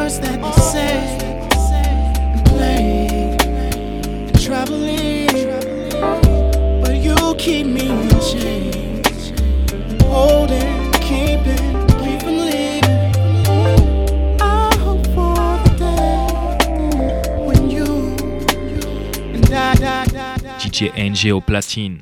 words that they say and play and traveling, but you keep me in chains, holding, keeping me from leaving. I hope for the day when you and I DJ NG au platine.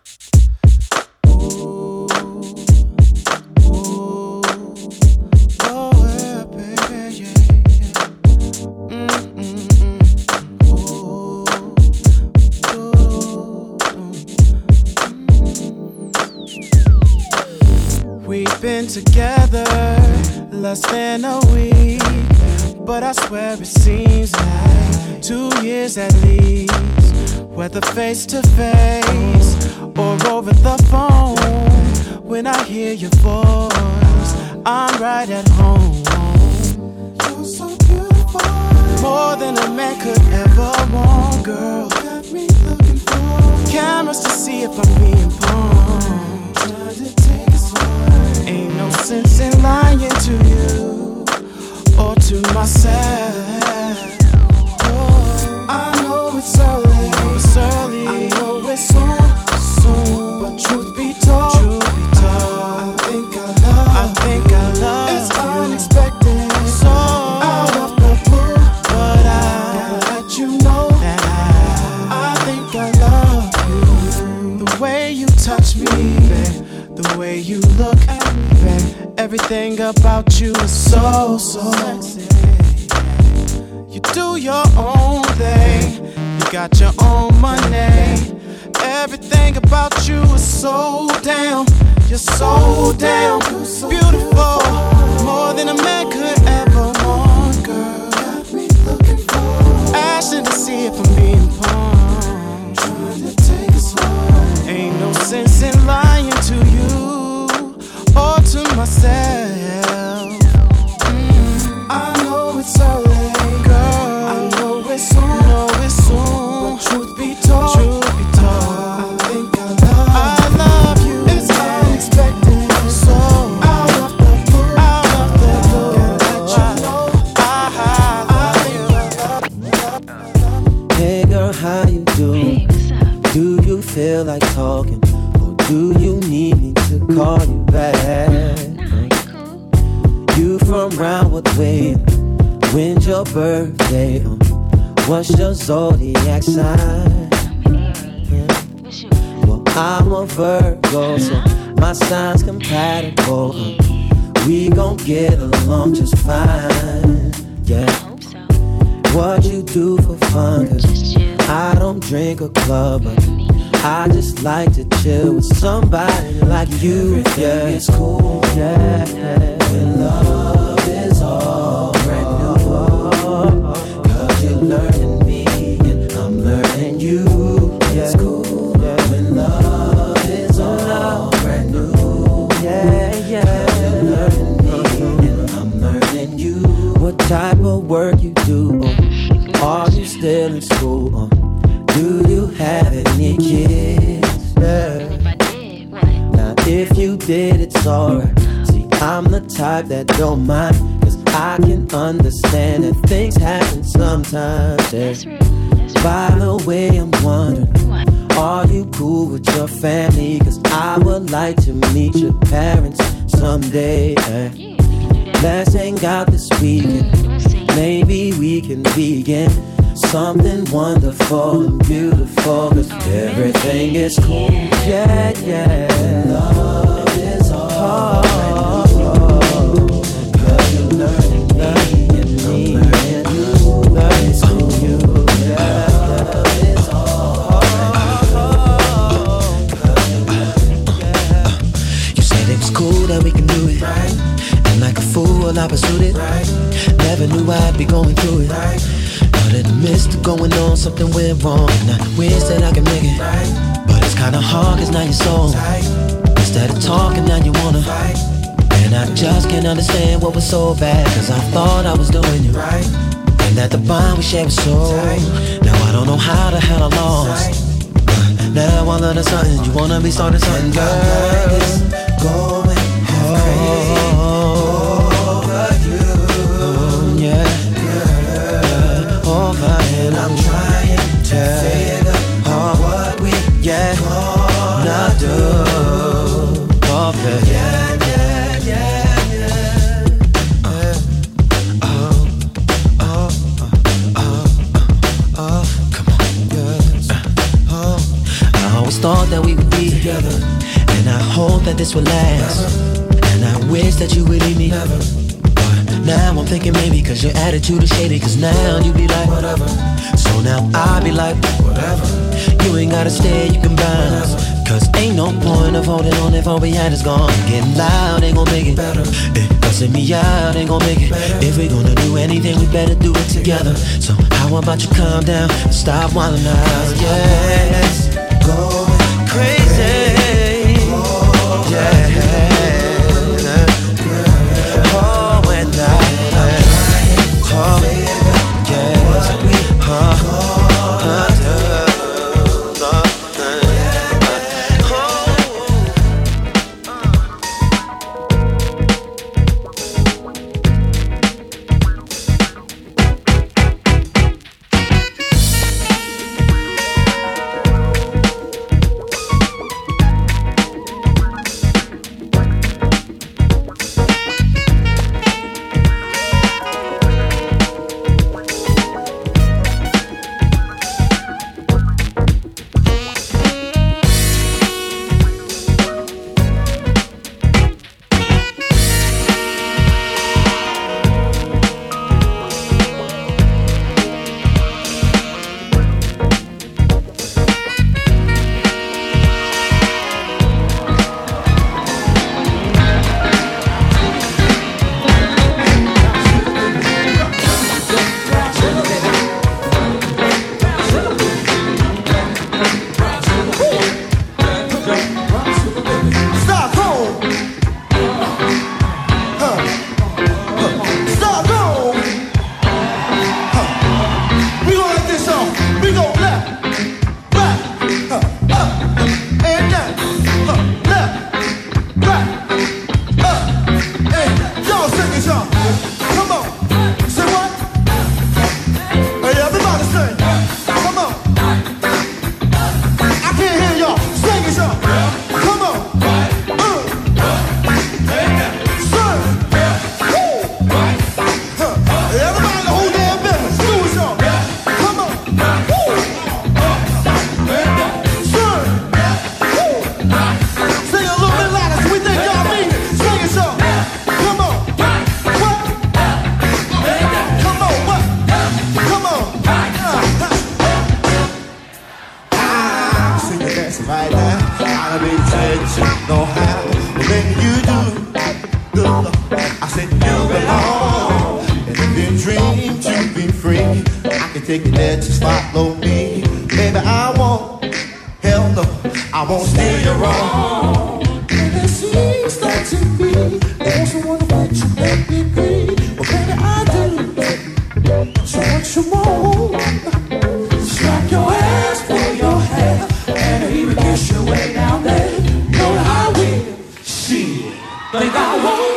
We've been together less than a week, but I swear it seems like 2 years at least. Whether face to face or over the phone, when I hear your voice, I'm right at home. You're so beautiful, more than a man could ever want, girl. Got me looking for cameras to see if I'm being pawned. Trying to take it slow. Ain't no sense in lying to you or to myself. Oh, I know it's early. I know it's soon, but truth be told, I think I love it's you. Unexpected, so out of the blue, but I gotta let you know that I think I love you. The way you touch me, babe, the way you look at me, babe, everything about you is so sexy. You do your own thing, you got your own money. Everything about you is so damn, you're so damn beautiful, more than a man could ever want, girl. Got me looking for asking to see if I'm being pawned. Trying to take it slow. Ain't no sense in lying to you or to myself. I know it's early, girl. I know it's soon, but truth be told, I think I love you. It's unexpected, so out of the blue, gotta let you know I Hey girl, how you doing? Hey, what's up? Do you feel like talking, or do you need me to call you back? Nah, you cool. You from Roundwood Way? When's your birthday? What's your zodiac sign? I'm an Aries. What's yours? Well, I'm a Virgo, so my sign's compatible. We gon' get along just fine, yeah. I hope so. What you do for fun, 'cause Just chill. I don't drink a club, but I just like to chill with somebody like you. Yeah, it's cool, yeah. When love is all brand new, 'cause you're learning me and I'm learning you. Yeah, it's cool, yeah. When love is all brand new, yeah. You're learning me and I'm learning you. What type of work you do? Are you still in school? Do you have any kids? Yeah. If I did, what? Now if you did, it's alright. See, I'm the type that don't mind, 'cause I can understand that things happen sometimes, yeah. That's real. That's real. By the way, I'm wondering, What? are you cool with your family? 'Cause I would like to meet your parents someday, yeah. Yeah, we can do that. Let's hang out this weekend. We'll see. Maybe we can begin something wonderful and beautiful, 'cause everything is cool, yeah, yeah. Love is all, 'cause you're learning me and I'm learning you. Learning from you, yeah. Love is all, 'cause you're learning, yeah. You said it was cool that we can do it, right? And like a fool I pursued it, right? Never knew I'd be going through it, right? But in the midst of going on, something went wrong, and I wish that I could make it, right? But it's kinda hard, 'cause now you're so tight. Instead of talking, now you wanna fight. And I just can't understand what was so bad, 'cause I thought I was doing you right, and that the bond we shared was so tight. Now I don't know how the hell I lost, but now all of a sudden you wanna be starting something, girl. Going half crazy over you, yeah. oh, yeah, yeah, yeah, yeah. Come on, yes. I always thought that we would be together, and I hope that this will last. And I wish that you would leave me. But now I'm thinking maybe cause your attitude is shady, cause now you be like whatever. So now I be like whatever. You ain't gotta stay, you can bounce. Cause ain't no point of holding on if all we had is gone. Getting loud ain't gon' make it better. Cussing me out ain't gon' make it better. If we gonna do anything, we better do it together. So how about you calm down and stop wildin' out? Yes, go crazy. Yeah. Oh, and take it there, just follow me. Baby, I won't, hell no, I won't steer you wrong. And it seems like to me, there's a wonder what you make me be. Well, baby, I do, so what you want? Strap your ass, pull your hair, and even kiss your way down there. Know that I will, shit, think I won't.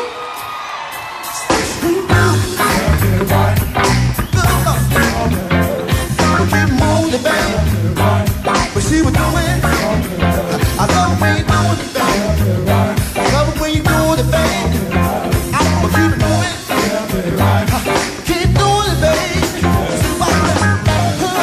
But she was doing, I love when you doing it, baby. I love when you doing it, baby. I'ma keep it doing, keep doing it, baby.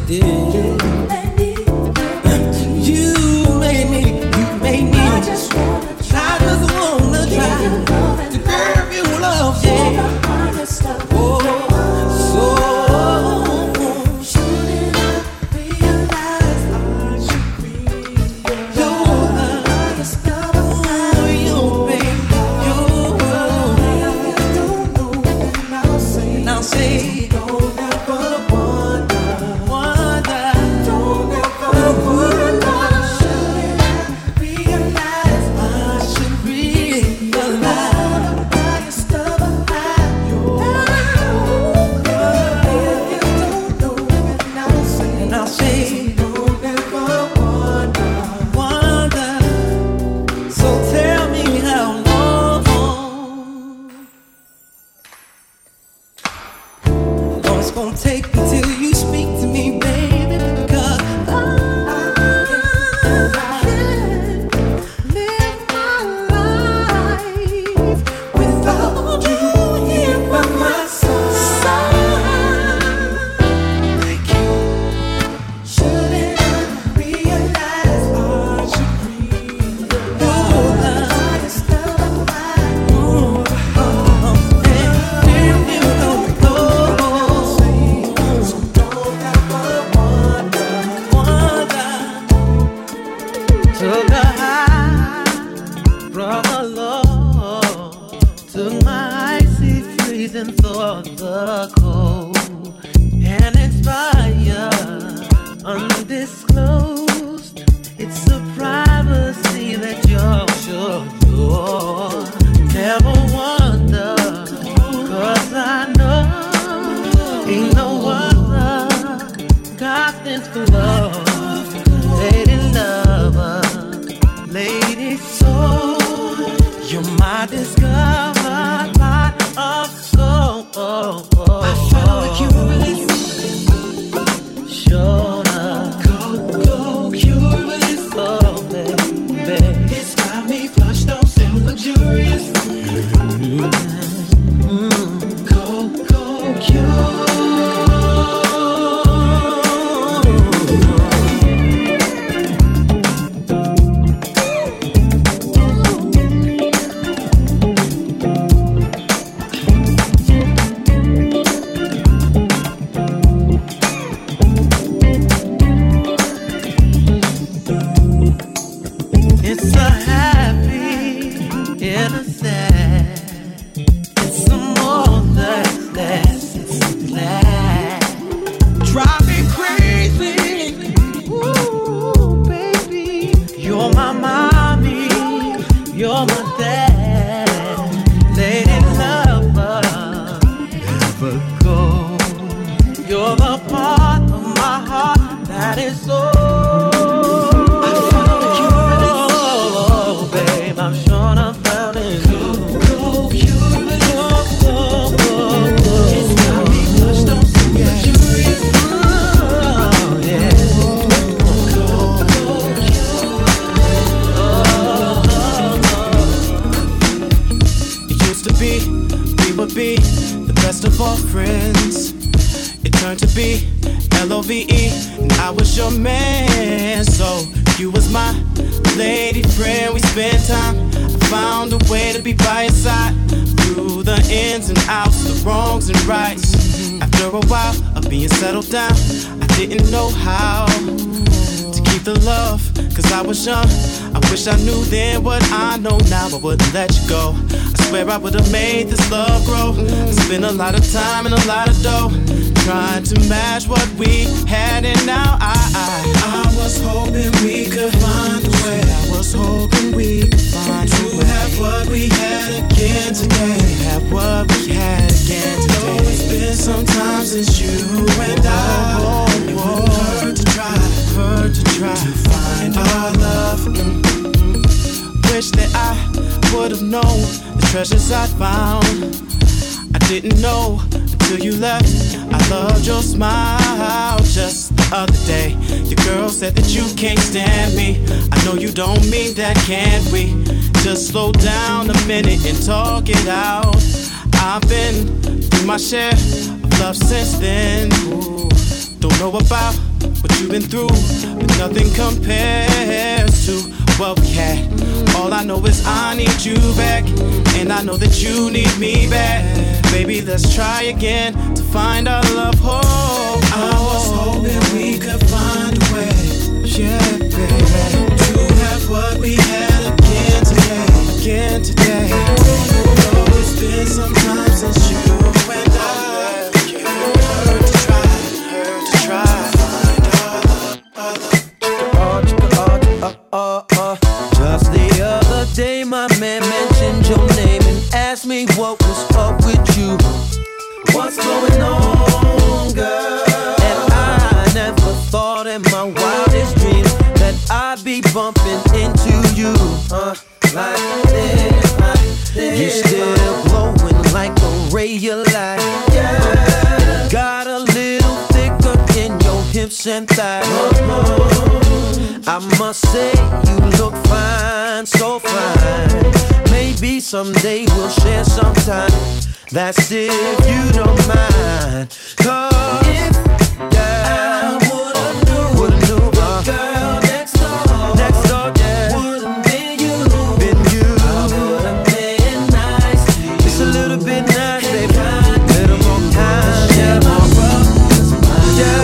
did. You made me. I just wanna try to give you love, yeah. Oh, so shouldn't I realize I should be your highest lover? You, baby, you don't know, and I'll say, don't ever wonder, don't ever wonder. Take me till you speak to me, baby, because I can't live my life without you here by my side. Thank you. Shouldn't I realize I should be the highest love of mine? Took a high from the Lord, took my icy freezing thoughts the cold, and inspired, undisclosed. It's a privacy that you're sure you're never wonder, 'cause I know ain't no other got this for love. Lady lover, lady soul, you're my discovered part of soul. I found the curious, sure enough. Go curious, oh baby, it's got me flushed on so luxurious. Go curious. It's a happy, innocent. It's some more that's it's glad. Drive me crazy. Ooh, baby. You're my mommy. You're my dad. Lady lover. Never go. You're the part of my heart that is so. I'm sure I found it. Go curious. It's got me flushed on so curious. Oh, yeah. Go curious. It used to be, we would be the best of all friends. It turned to be LOVE, and I was your man. So you was my lady friend, we spent time. I found a way to be by your side through the ins and outs, the wrongs and rights. After a while of being settled down, I didn't know how to keep the love, 'cause I was young. I wish I knew then what I know now. I wouldn't let you go. I swear I would've made this love grow. I spent a lot of time and a lot of dough trying to match what we had, and now I was hoping we could find a way. I was hoping we could find a way to have what we had again today. Have what we had again today. It's been some time since you and I. It wouldn't hurt to try to find our love. Wish that I would've known the treasures I found. I didn't know until you left. I loved your smile just the other day. Your girl said that you can't stand me. I know you don't mean that, can't we? Just slow down a minute and talk it out. I've been through my share of love since then. Ooh, don't know about what you've been through, but nothing compares to what we had. All I know is I need you back, and I know that you need me back. Baby, let's try again to find our love. Oh, I was hoping we could find a way, yeah, baby, to have what we had again today. Though it's been some time since you and I heard to try. Just the other day my man mentioned your name and asked me what was up with you. What's going on, girl? And I never thought in my wildest dreams that I'd be bumping into you. Like this. You're still glowing like a ray of light. Yeah. Got a little thicker in your hips and thighs. I must say you look fine, so fine. Maybe someday we'll share some time. That's if you don't mind. 'Cause if I would've knew the girl next door, yeah, wouldn't been you. I would've been nice to you. It's a little bit nice, baby. Little more kind, yeah, more rough. Yeah.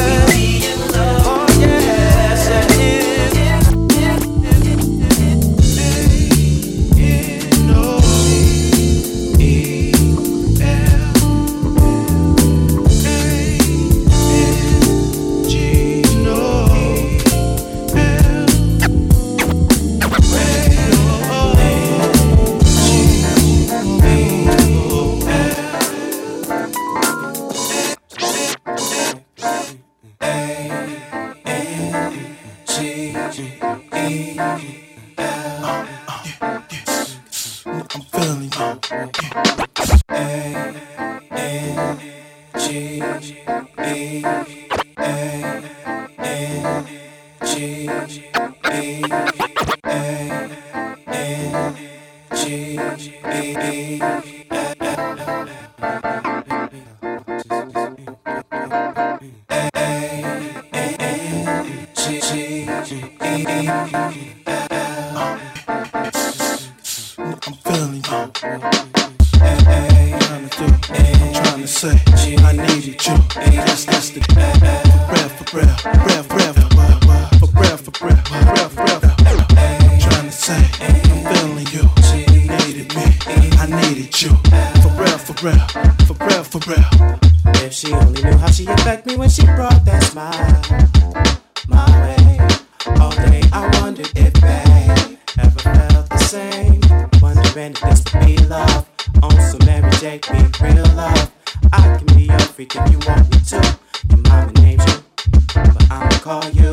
If she only knew how she affect me when she brought that smile my way. All day I wondered if babe ever felt the same. Wondering if this would be love. On some Mary J, be real love. I can be your freak if you want me to. Your mama named you, but I'ma call you.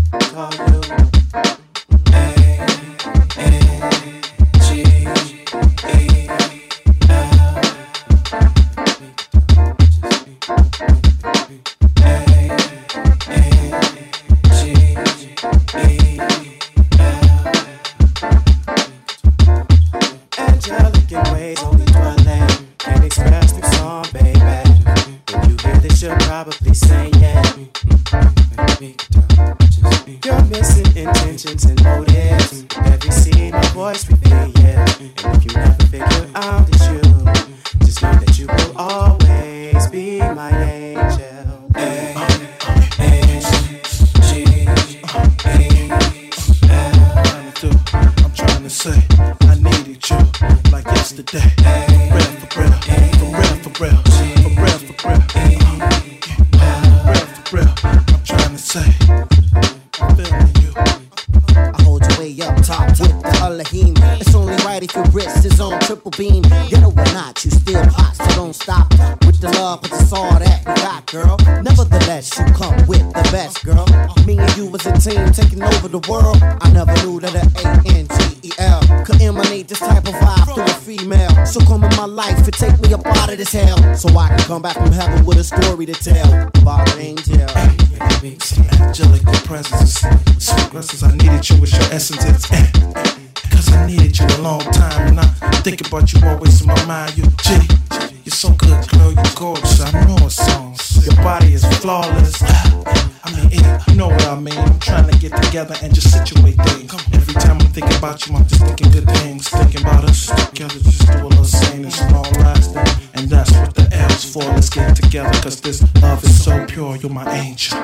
Angelic in ways only dwelling can express through song, baby. When you hear this, you'll probably say yeah. You're missing intentions and motives. Every scene, my voice reveal, yeah. And if you never figure out it's you, just know that you will always be my angel. I'm trying to say I needed you like yesterday. For real. I'm trying to say I'm feeling you. I hold you way up top with the Elohim. It's only right if your wrist is on triple beam. Ghetto or not, you still hot, so don't stop with the love, but it's all that we got, girl. Nevertheless, you come with the best, girl. Me and you was a team taking over the world. I never knew that an ANGEL could emanate this type of vibe through a female. So come in my life and take me up out of this hell, so I can come back from heaven with a story to tell about an angel. Angelic presence, sweet blessings. I needed you with your essences. Cause I needed you a long time, and I think about you always in my mind. You G, you're so good, girl, you're gorgeous. I know a song. Your body is flawless. You know what I mean? I'm trying to get together and just situate things. Every time I'm thinking about you, I'm just thinking good things. Thinking about us together, just do a little sane and long lasting. And that's what the L's for. Let's get together, cause this love is so pure. You're my angel.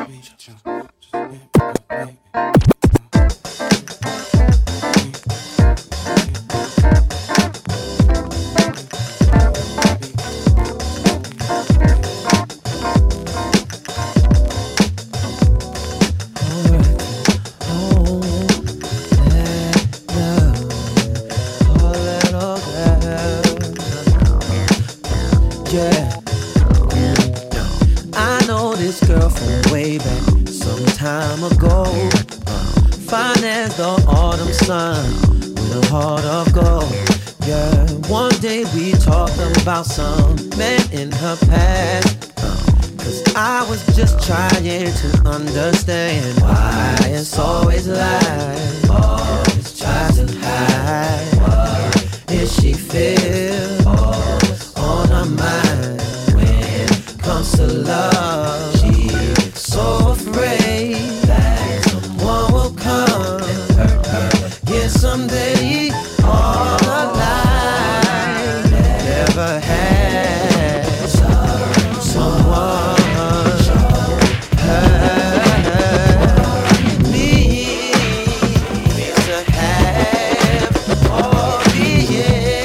About some man in her past, cause I was just trying to understand why it's always lies, always tries to hide what is she feel on her mind when it comes to love. She's so afraid that someone will come and hurt her, yeah, someday all her life. Never had someone hurt me to have all the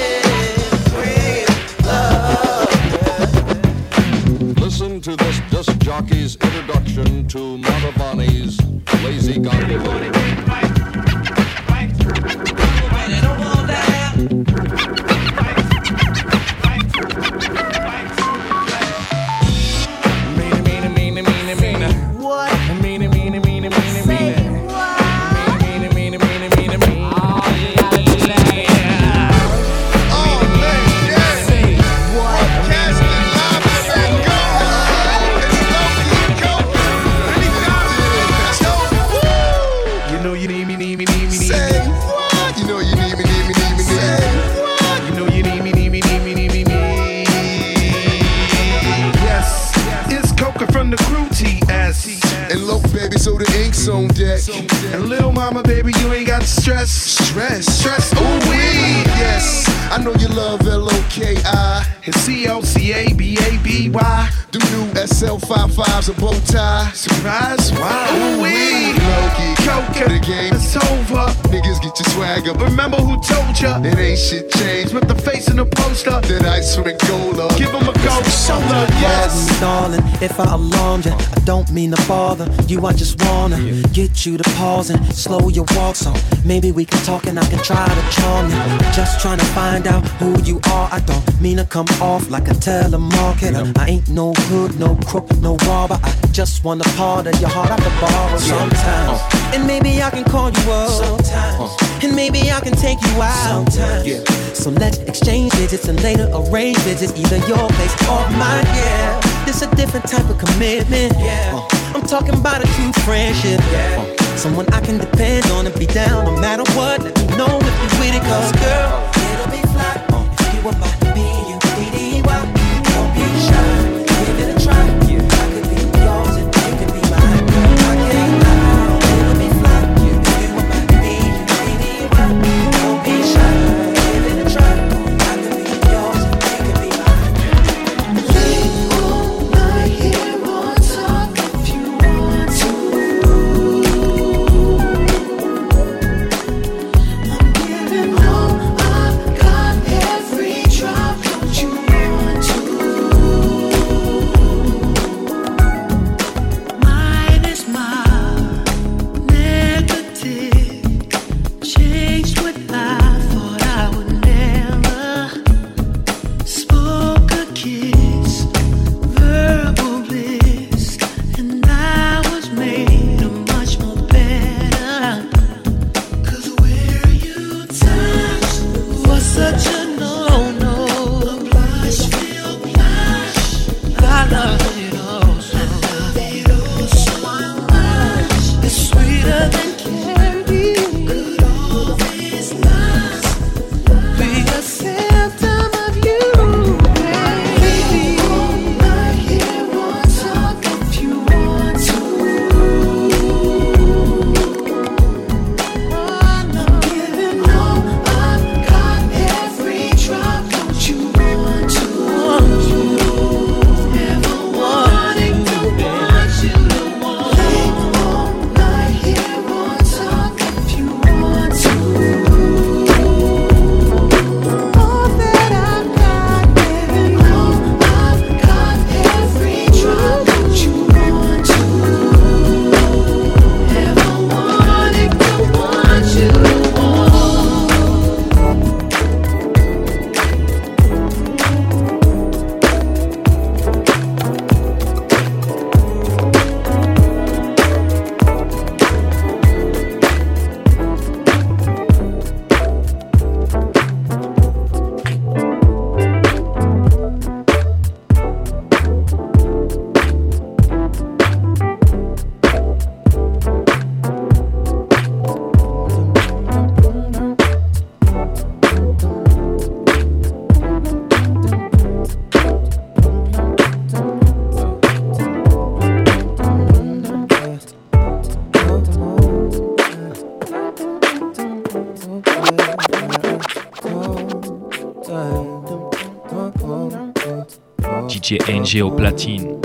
love. Listen to this disc jockey's introduction to Montavani's Lazy Gondola. So the ink's on deck. And little mama, baby, you ain't got to stress. Ooh wee, yes. I know you love L-O-K-I and C-O-C-A-B-A-B-Y. Them new SL55s a bow tie. Surprise, wow. Ooh wee, Loki, Coca, the game is over. Niggas get your swagger. Remember who told ya? It ain't shit changed. With the face in the poster, that ice from Angola. Give them a cold shoulder, yes. Darling, if I alarmed you, I don't mean to bother you. I just wanna get you to pause and slow your walk, so maybe we can talk and I can try to charm you. Just trying to find out who you are. I don't mean to come off like a telemarketer. I ain't no hood, no crook, no robber. I just want a part of your heart I can borrow sometimes. And maybe I can call you up sometimes. And maybe I can take you out sometimes. So let's exchange digits and later arrange visits, either your place or mine. Yeah, this a different type of commitment. I'm talking about a true friendship. Someone I can depend on and be down no matter what. Let me know if you with it, cause girl, it'll be fly if you were my B-U-D-D-Y. Don't be shy, give it a try. I could be yours and you could be mine. Girl, I can't lie, it'll be fly if you were my B-U-D-D-Y. Don't be shy, give it a try. I could be yours and you could be mine. Late all night here on top if you want to. I'm giving all DJ NG au platine.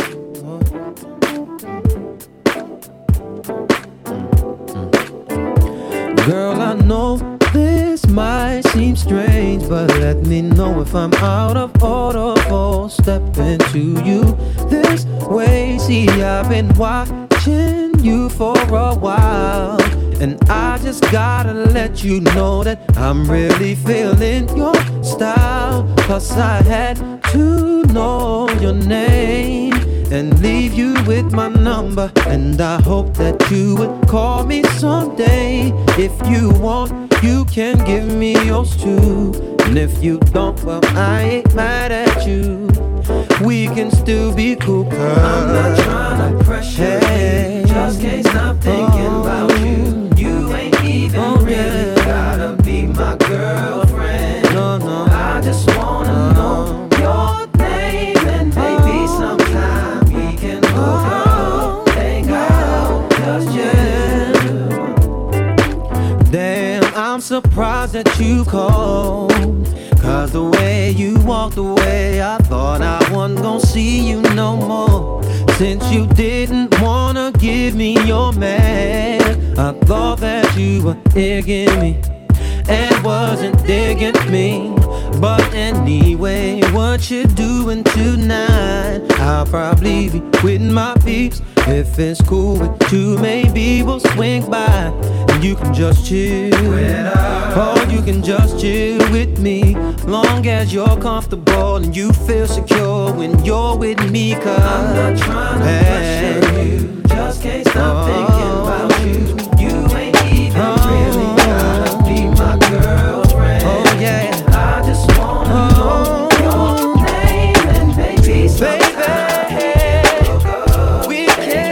Girl, I know this might seem strange, but let me know if I'm out of order for stepping to you this way. See, I've been watching you for a while, and I just gotta let you know that I'm really feeling your style. Plus I had to know your name and leave you with my number, and I hope that you would call me someday. If you want, you can give me yours too, and if you don't, well, I ain't mad at you. We can still be cool, girl. I'm not trying to pressure you, just can't stop thinking about you. You ain't even really gotta be my girlfriend. No, no, I just wanna know your name, and maybe sometime we can hook up, hang out, just yet. Damn, I'm surprised that you called, 'cause the way you walked away, I thought I wasn't gonna see you no more. Since you didn't wanna give me your man, I thought that you were digging me and wasn't digging me. But anyway, what you doing tonight? I'll probably be with my peeps. If it's cool with you, maybe we'll swing by and you can just chill. Or you can just chill with me, long as you're comfortable and you feel secure when you're with me. 'Cause I'm not trying to pressure you, just can't stop thinking about you. You ain't even really gotta be my girlfriend. Oh yeah, I just wanna know your name, and maybe sometime we can.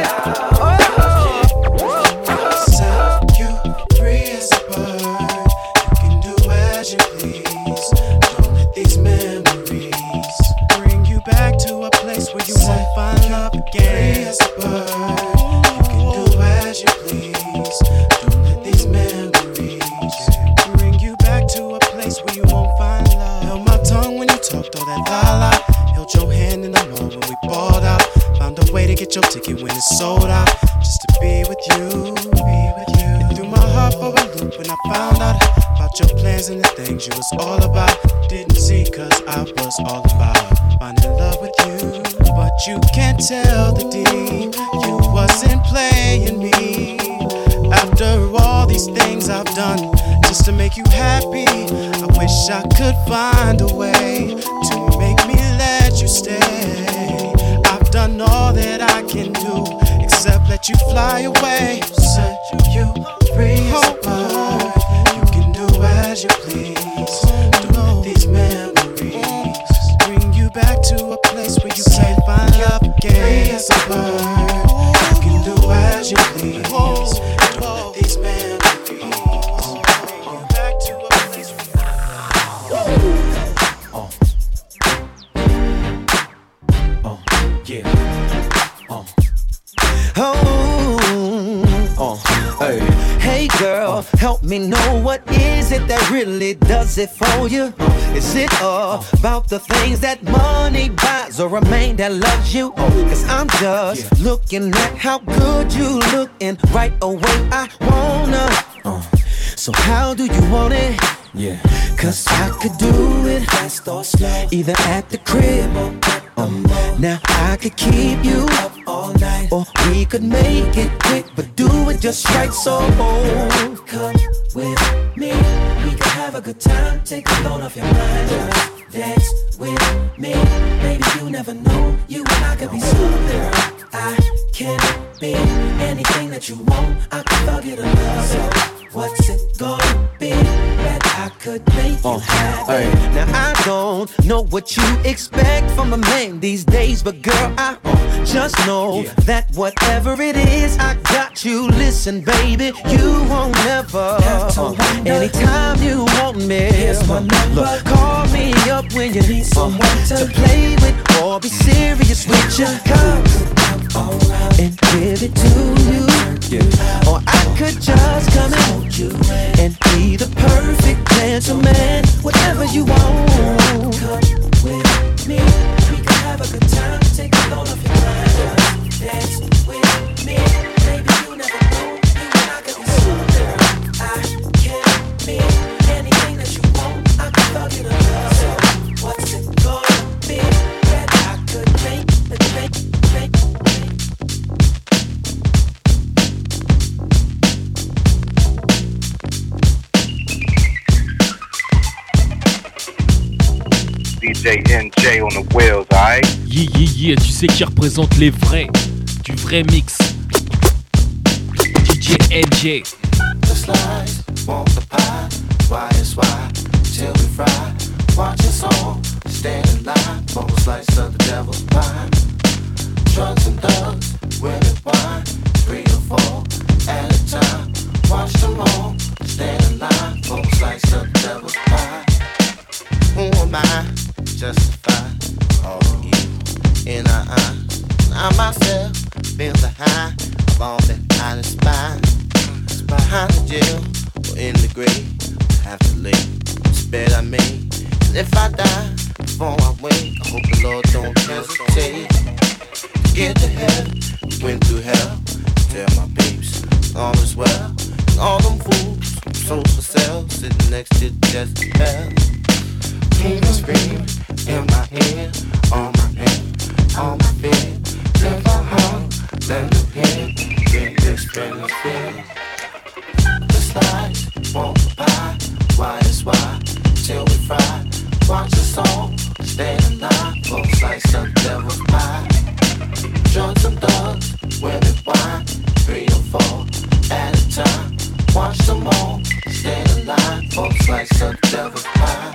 Set you free as a bird. You can do as you please. Don't let these memories bring you back to a place where you won't find love again. Free as a bird. You can do as you please. Don't let these memories bring you back to a place where you won't find love. Held my tongue when you talked all that la-la. Held your hand in the mall when we balled out. Found a way to get your ticket when it's sold out. Just to be with you, be with you. It threw my heart for a loop when I found out about your plans and the things you was all about. Didn't see 'cause I was all about finding love with you. But you can't tell the D, you wasn't playing me. After all these things I've done just to make you happy, I wish I could find a way to make me let you stay. I've done all that I can do except let you fly away. Set you free as a bird. You can do as you please. Don't let these memories bring you back to a place where you can't find love again. Free as a bird. You can do as you please. Don't let these memories bring you back to a place where Hey girl, help me know, what is it that really does it for you? Is it all about the things that money buys, or a man that loves you? 'Cause I'm just looking at how good you look, and right away I wanna. So how do you want it? Yeah, 'cause I could do it fast or slow, either at the crib or now I could keep you up all night, or we could make it quick, but do it just right. So come with me, we could have a good time, take a load off your mind. Dance with me, baby, you never know, you and I could be something. I can be anything that you want, I could forget a love. So what's it gonna be that I could make you happy? Now I don't know what you expect from a man these days, but girl, I just know that whatever it is, I got you. Listen, baby, you won't never. Anytime you want me, look, call me up when you need someone to play with or be serious with you. Come and give it to you. Or I could just come and hold you and be the perfect gentleman, whatever you want. Come with me, we can have a good time. DJ NJ on the wheels, alright? Yeah, tu sais qui représente les vrais, du vrai mix. DJ NJ. The slides won't apply. Why is why till we fry? Watch us all stand in line for a slice of the devil's pie. Drugs and thugs, women wine, 3 or 4 at a time. Watch them all stand in line for a slice of the devil's pie. Who am I? Justify all the evil in our eyes. I myself feel the high of all that I inspire. It's behind the jail or in the grave. Have to live, it's bed I made. And if I die before I wake, I hope the Lord don't hesitate. Get to heaven, went through hell. Tell my peeps, all is well. And all them fools, souls for sale, sitting next to Jezebel. King and scream in my ear, on my pain, on my fear. If I hung, then the pain, get this benefit. The slides won't apply. Why is why till we fry? Watch us all stay alive for a slice of devil's pie. Drugs and thugs, women wine, 3 or 4 at a time. Watch them all stay alive for a slice of devil's pie.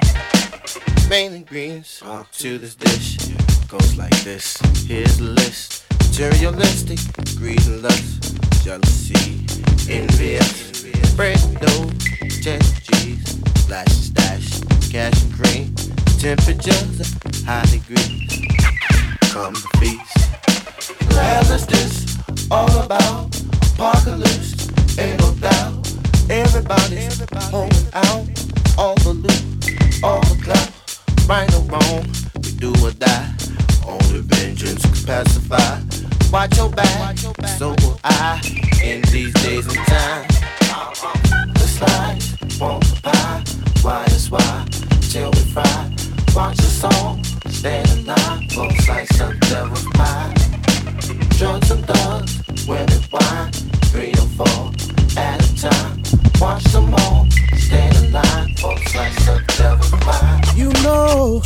Main ingredients to this dish goes like this. Here's the list: materialistic, greed and lust, jealousy, envious, bread and dough, cheese, flash and stash, cash and cream, temperatures at high degrees. Come to feast. Well, is this all about? Apocalypse, ain't no doubt. Everybody's holding out, all the loot, all the clout. Right or wrong, we do or die. Only vengeance can pacify. Watch your back, so will I. In these days and time, the slides won't apply. Why is why till we fry? Watch us all stay alive for a slice of devil's pie. Drugs and thugs, women wine, 3 or 4 at a time. Watch them all stay alive for a slice of devil's pie. You know,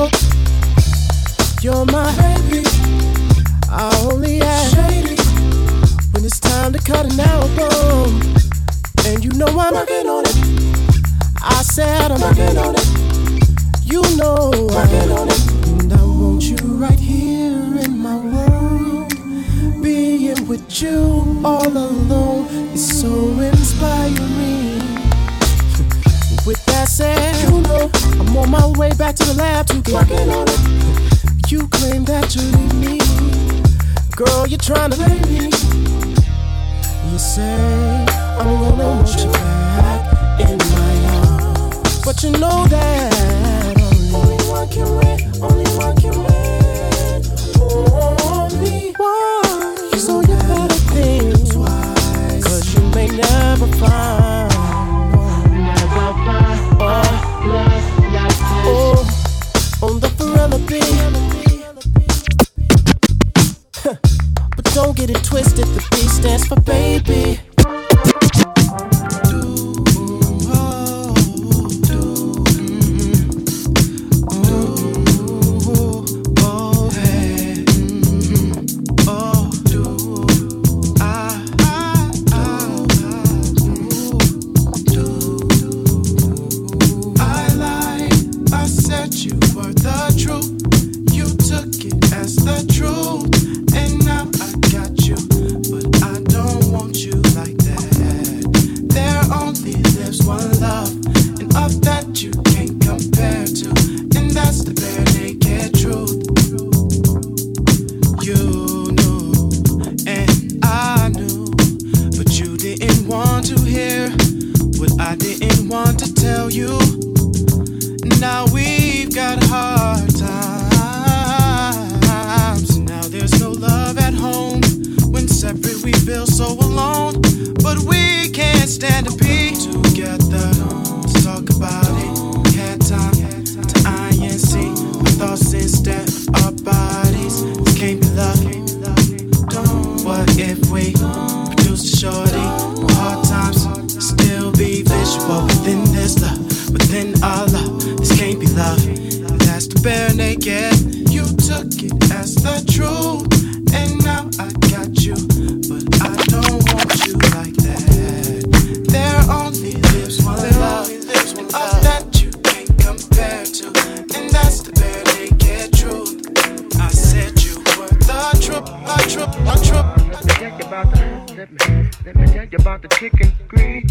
you're my baby. I only act shady when it's time to cut an album. And you know I'm working on it. I said I'm working on it. You know I'm working on it. And I want you right here in my world. Being with you all alone is so inspiring. With that said, you know I'm on my way back to the lab to get working on it. You claim that you need me, girl, you're trying to play me. You say I'm gonna want you back in my arms, but you know that only one can win, only one can win. Only one. So you better think twice, 'cause you may never find. Oh, on the Forever beat. But don't get it twisted, the B stands for baby. Within this love, within our love, this can't be love. That's the bare took it as the truth, and now I got you, but I don't want you like that. There only lives one love, that you can't compare to, and that's the bare naked truth. I said you were the truth, a truth. Let me tell you about the chicken grease.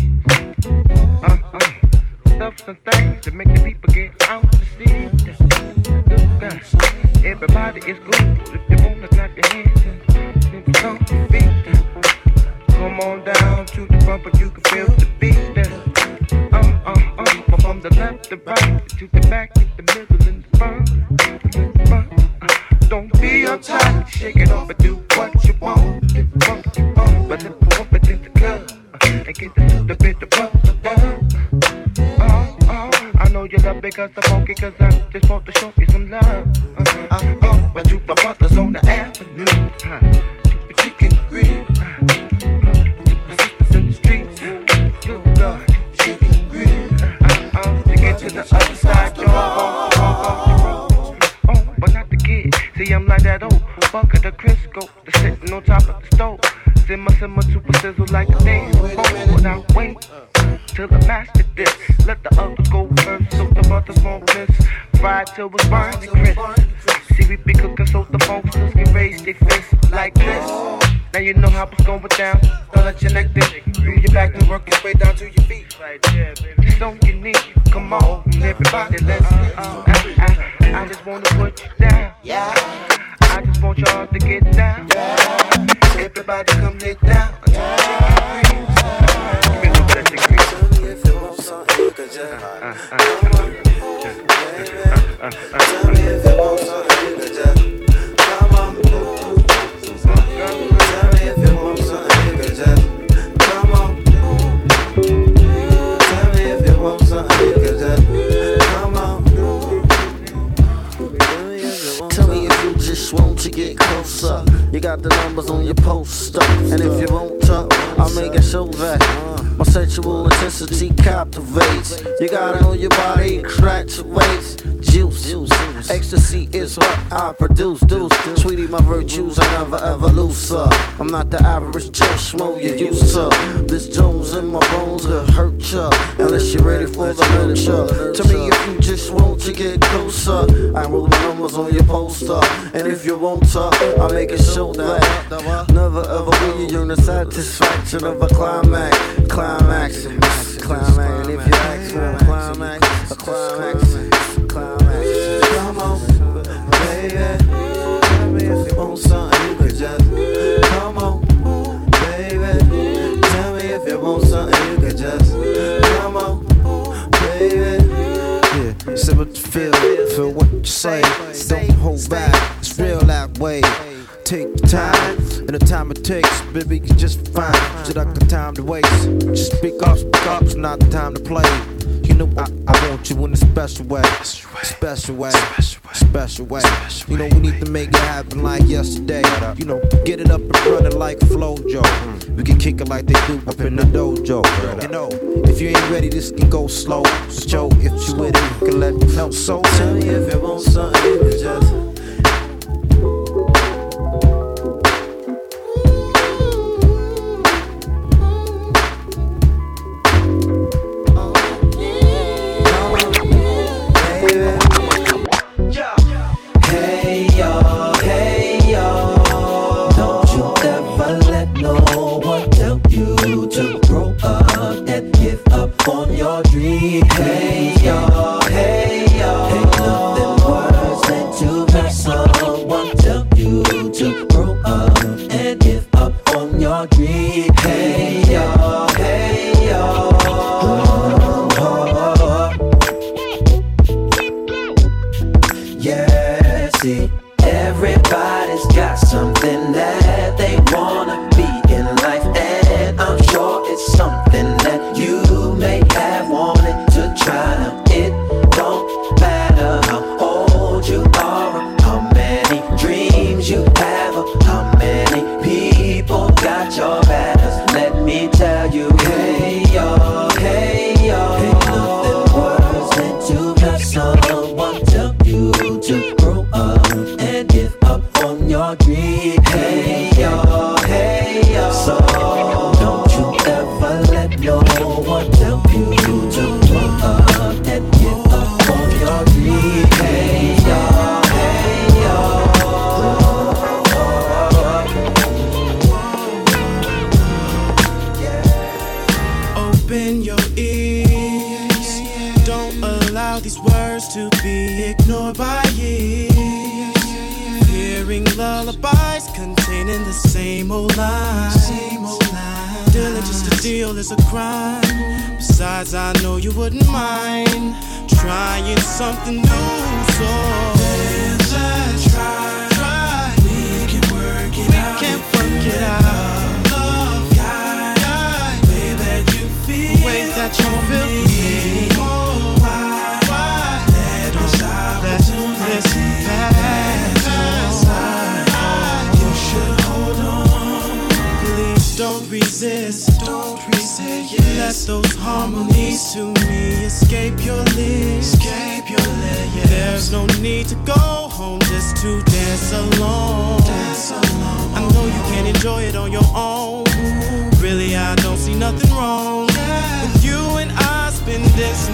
Stuff some things to make the people get out to see. Everybody is good if you wanna clap your hands and stomp your feet. Come on down to the bumper, you can feel the beat. From the left to right, to the back, to the middle, and the front. Don't be uptight, shake it off and do what you want. But let the woman in the club and get the little bit of bump. I know you love me cause I'm funky, cause I just want to show you some love. But to my brothers on the avenue, to the chicken grill, to my sisters in the streets, good God, chicken grill. To get to the other side, y'all. But not the kid. See, I'm like that old bucket of Crisco that's sitting on top of the stove. Simmer, super sizzle like a thing. But I wait till the master dish. Let the others go first, so the butters won't miss. Fried till it's burning crisp. See, we be cooking so the folks can raise their fists like this. Now you know how it's going down. Don't let your neck dip. Through your back and work your way down to your feet. It's so unique. Come on, everybody, let's I just wanna put you down. I just want y'all to get down. Everybody come get down. Give me a little bit of chicken grease. Tell me if you want something, you can just tell me if you want something, you can just come on. Tell me if you want something, you can just come on. Tell me if you want something, you can just come on. Tell me if you just want to get closer. You got the numbers on your poster, and if you won't talk, I'll make it show that my sexual intensity captivates. You gotta know your body graduates. Juice, ecstasy is what I produce. Sweetie, my virtues I never ever lose. I'm not the average Joe Schmo you used to. This Jones in my bones will hurt ya unless you're ready for the nurture. Tell me if you just want to get closer. I roll the numbers on your poster, and if you want to, I'll make it show that never ever will you yearn the satisfaction of a climax. And if you ask for a climax, come on, baby. Tell me if you want something, you can just come on, baby. Tell me if you want something, you can just come on, baby. Yeah, say what you feel what you say. Don't hold back, it's real that way. Take your time, and the time it takes, baby, you just fine. Just like the time to waste. Just speak up, it's not the time to play. You know I want you in a special way. Special way. You know we need to make it happen like yesterday. You know, get it up and running like Flojo. We can kick it like they do up in the dojo. You know, if you ain't ready, this can go slow. So if you with it, you can let me know. So tell me if you want something, you can just. Someone tell you to grow up, and if no one tell you to grow up and get up on your feet. Hey y'all, hey y'all. Open your ears, don't allow these words to be ignored by years. Hearing lullabies containing the same old lines. Diligence to deal is a crime. Besides, I know you wouldn't mind trying something new. So let's try. We can work it out. Love guide, way that you feel. The way that you feel me. Oh, why? Let us do this fast. You should hold on. Please don't resist. Yeah. Let those harmonies to me escape your lips. Yeah. There's no need to go home just to dance alone. I know you can enjoy it on your own. Really, I don't see nothing wrong with you and I spending some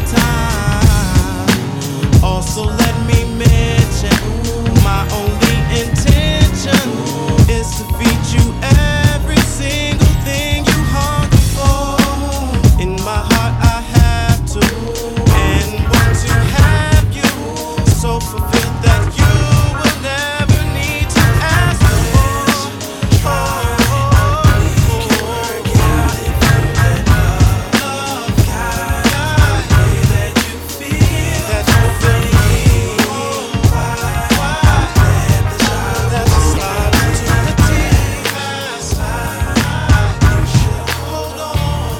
time. Also, let me mention my only intention is to feed you every single thing you hunger for. In my heart I have to and want to have you so fulfilled that you will never need to ask for. We can work it out if you let love guide the way that you feel. That you feel me. Let the slide into the deep. You should hold on.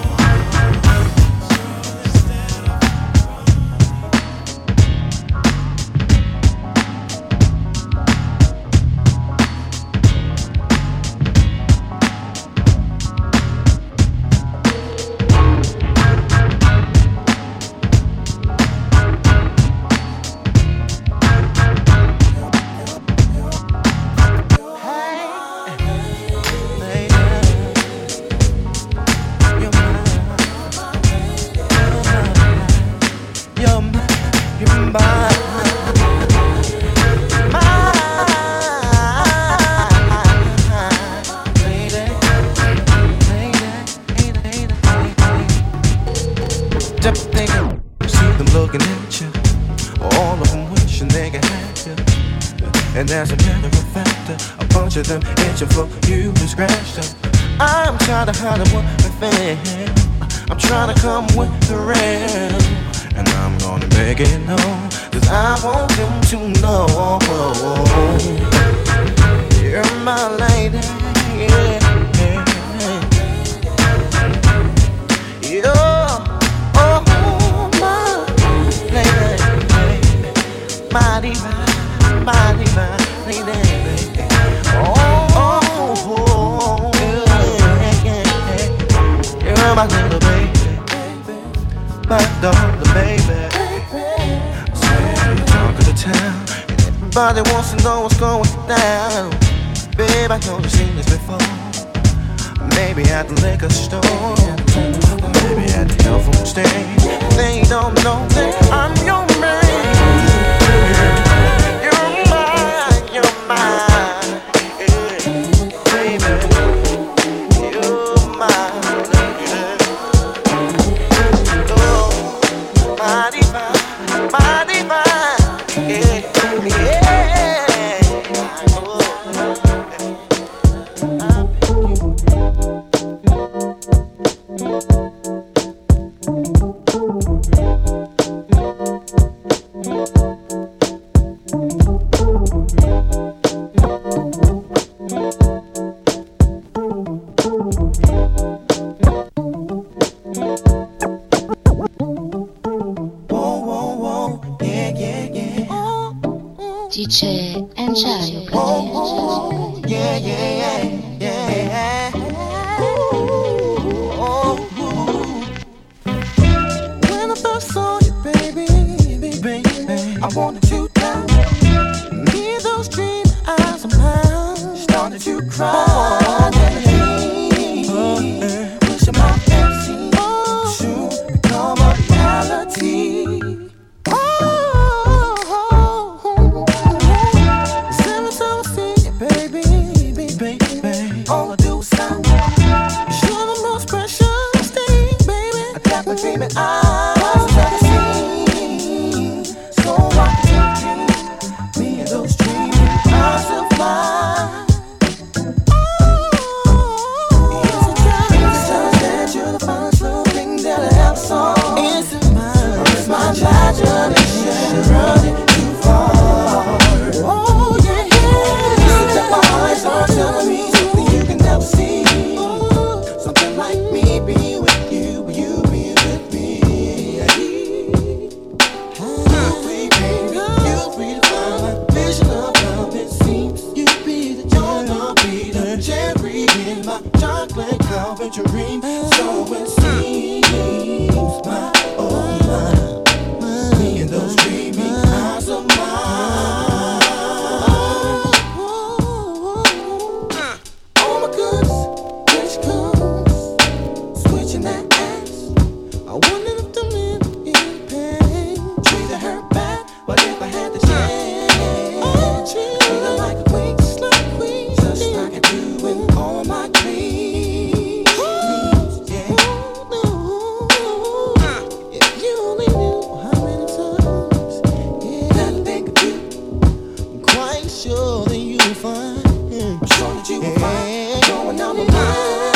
And as a matter of fact, a bunch of them itching for you to scratch them. I'm trying to hide what I feel. I'm trying to come with the real. And I'm gonna make it known, 'cause I want them to know you're my lady. You're my lady. My divine lady. You're my little baby, my darling baby. Say talk of the town, everybody wants to know what's going down. Babe, I know you've seen this before. Maybe at the liquor store, maybe at the telephone stage. They don't know that I'm your man. DJ Angelo. Yeah. Oh. baby, I've never seen. So I take me and those dreaming eyes of mine. Is it just that you're the first little thing that I have saw? Is it mine? Or is my imagination running too far? Oh yeah, is it that my eyes are telling me something you can never see? Something like me be with you, will you be with me? You redefine my vision of love. It seems you be the cherry in my chocolate covered dream. So it seems my me and those dreamy eyes of mine. Oh my goodness, here she comes, switching that ass. I wonder if the men in pain treated her bad, but if I had the chance, treat her like a queen, just like I do in all my dreams. Yeah. If you only knew how many times that I think of you, I'm quite sure that you will find. I'm sure that you will find going down the line.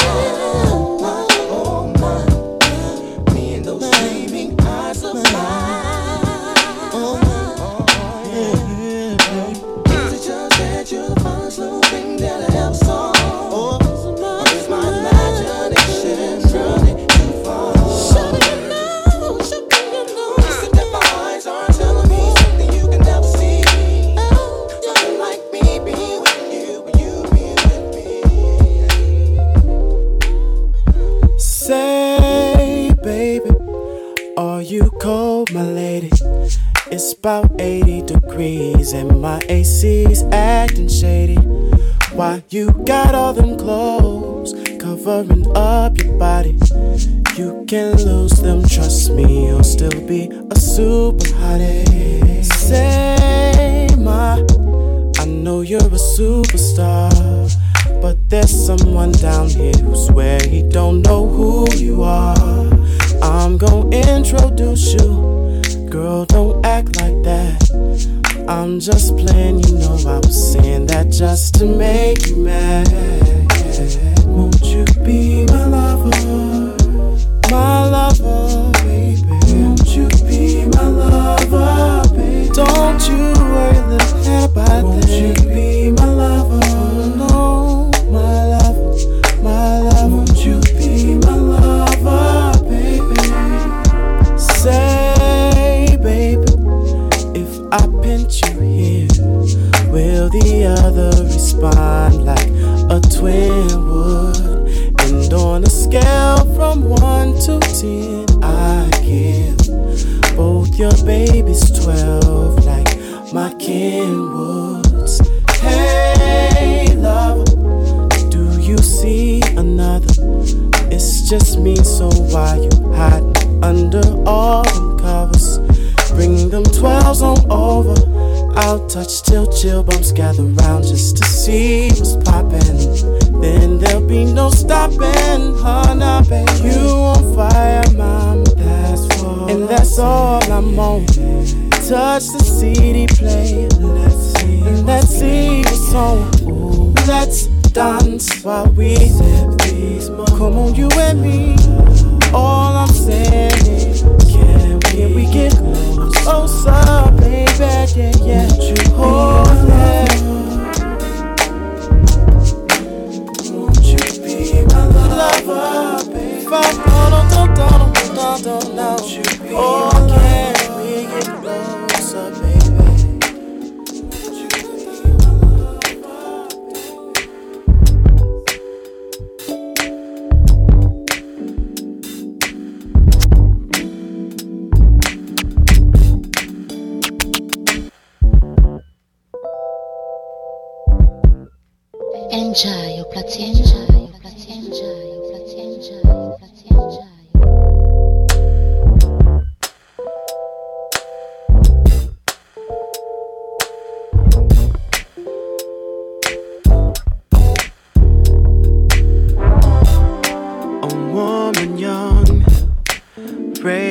Oh my, me and those gleaming eyes of mine. Is it just that you're the first little thing that I ever saw? Or is my imagination running too far? Shut it now, is it that my eyes are telling me something you can never see? Something like me be with you, will you be with me? Say, baby, are you cold, my lady? It's about 80 degrees and my AC's acting shady. Why you got all them clothes covering up your body? You can lose them, trust me, you'll still be a super hottie. Say, I know you're a superstar, but there's someone down here who swear he don't know who you are. I'm gonna introduce you. Girl, don't act like that. I'm just playing, you know I was saying that just to make you mad. Won't you be my lover? My lover, baby. Won't you be my lover, baby? Don't you worry a little bit about that. Won't you be my lover? No, my lover, my lover. Won't you be my lover, baby? Say, baby, if I pinch you here, will the other respond like a twin would? And on a scale from 1 to 10, I give both your babies 12 like my Kenwoods. Hey, lover, do you see another? It's just me, so why you hiding under all them covers? Bring them 12s on over. I'll touch till chill bumps gather round just to see what's poppin'. Then there'll be no stopping, huh, baby. You on fire, mama, that's for and that's all I'm on. Touch the CD player, let's see what's on. Ooh, let's dance while we sip these. Come on, you and me. All I'm saying is, can we get closer, baby? Yeah, yeah. Oh, yeah. Won't you be my lover, baby? Oh, can we get closer, baby? Enjoy, platino.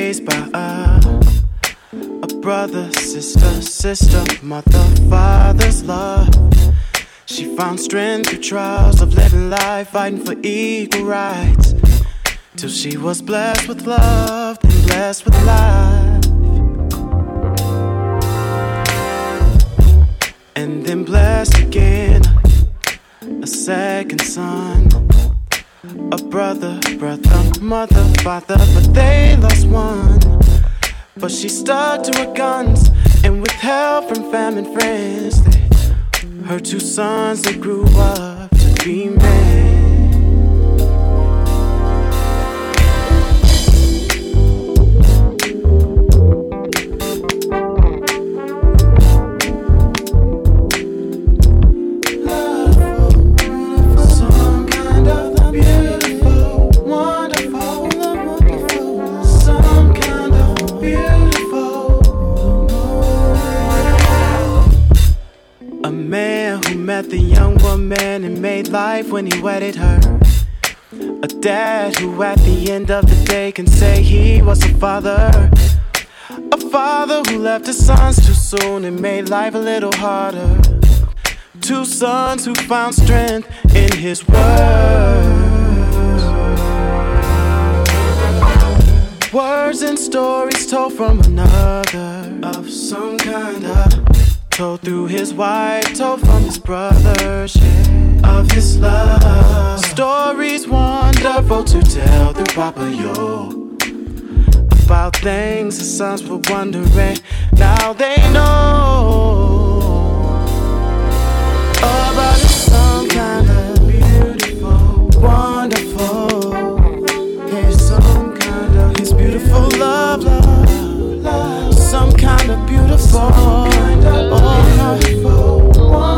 raised by a brother, sister, mother, father's love. She found strength through trials of living life, fighting for equal rights, till she was blessed with love, then blessed with life, and then blessed again, a second son, a brother, mother, father, but they lost one. But she stuck to her guns, and with help from family and friends, her two sons, they grew up to be men. The young woman and made life when he wedded her. A dad who at the end of the day can say he was a father. A father who left his sons too soon and made life a little harder. Two sons who found strength in his words. Words and stories told from another, of some kind of, told through his wife, told from his brother, of his love. Stories wonderful to tell through Papa Yo, about things the sons were wondering, now they know. About some kind of beautiful, wonderful, here's some kind of his beautiful love, some kind of beautiful, wonderful,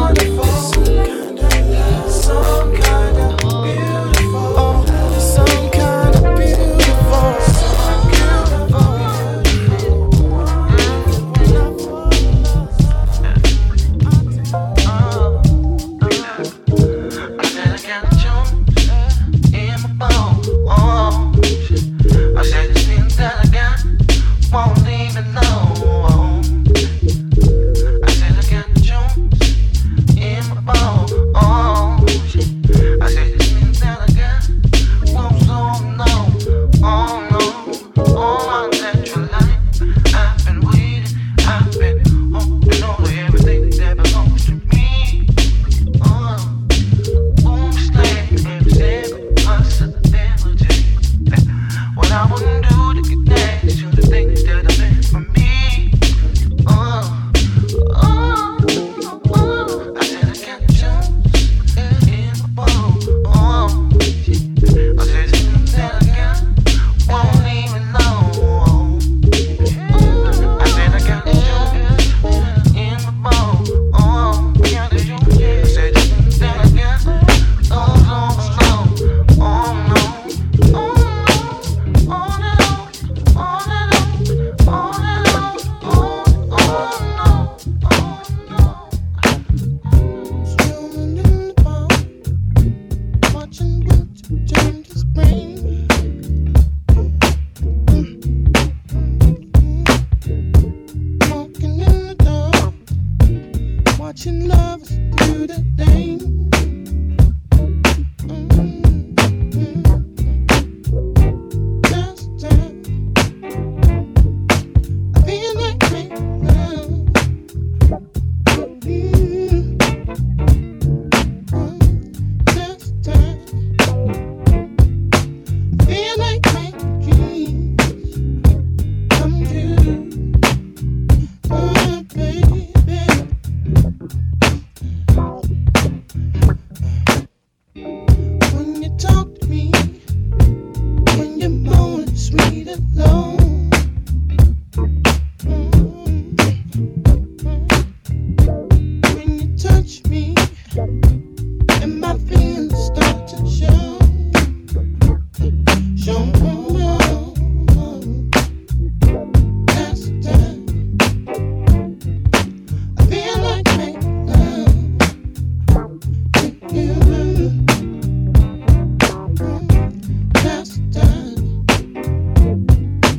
some kind of beautiful, some kind of beautiful, I said I got a Jones in my bones. I said this feeling that I got won't leave me alone. I said I got Jones in my bones. I said this feeling that I got won't slow me down. Oh no, all my natural life I've been waiting, I've been holding on to everything that belongs to me. Boom, slang, every single possibility. What I wouldn't do to get next to the things that I meant for me. I said I got Jones in my bones. I said the things that I got won't leave me alone. I said I got Jones in my bones. I said the things that I got don't slow. Oh no, oh no, on and watching lovers do the thing. Just time. I feel like making love. Just time. I feel like making dreams come true. Oh, baby. When you talk to me, when you're more sweet alone, when you touch me, and my feelings start to show. That's the time. I feel like making love with you. That's the time.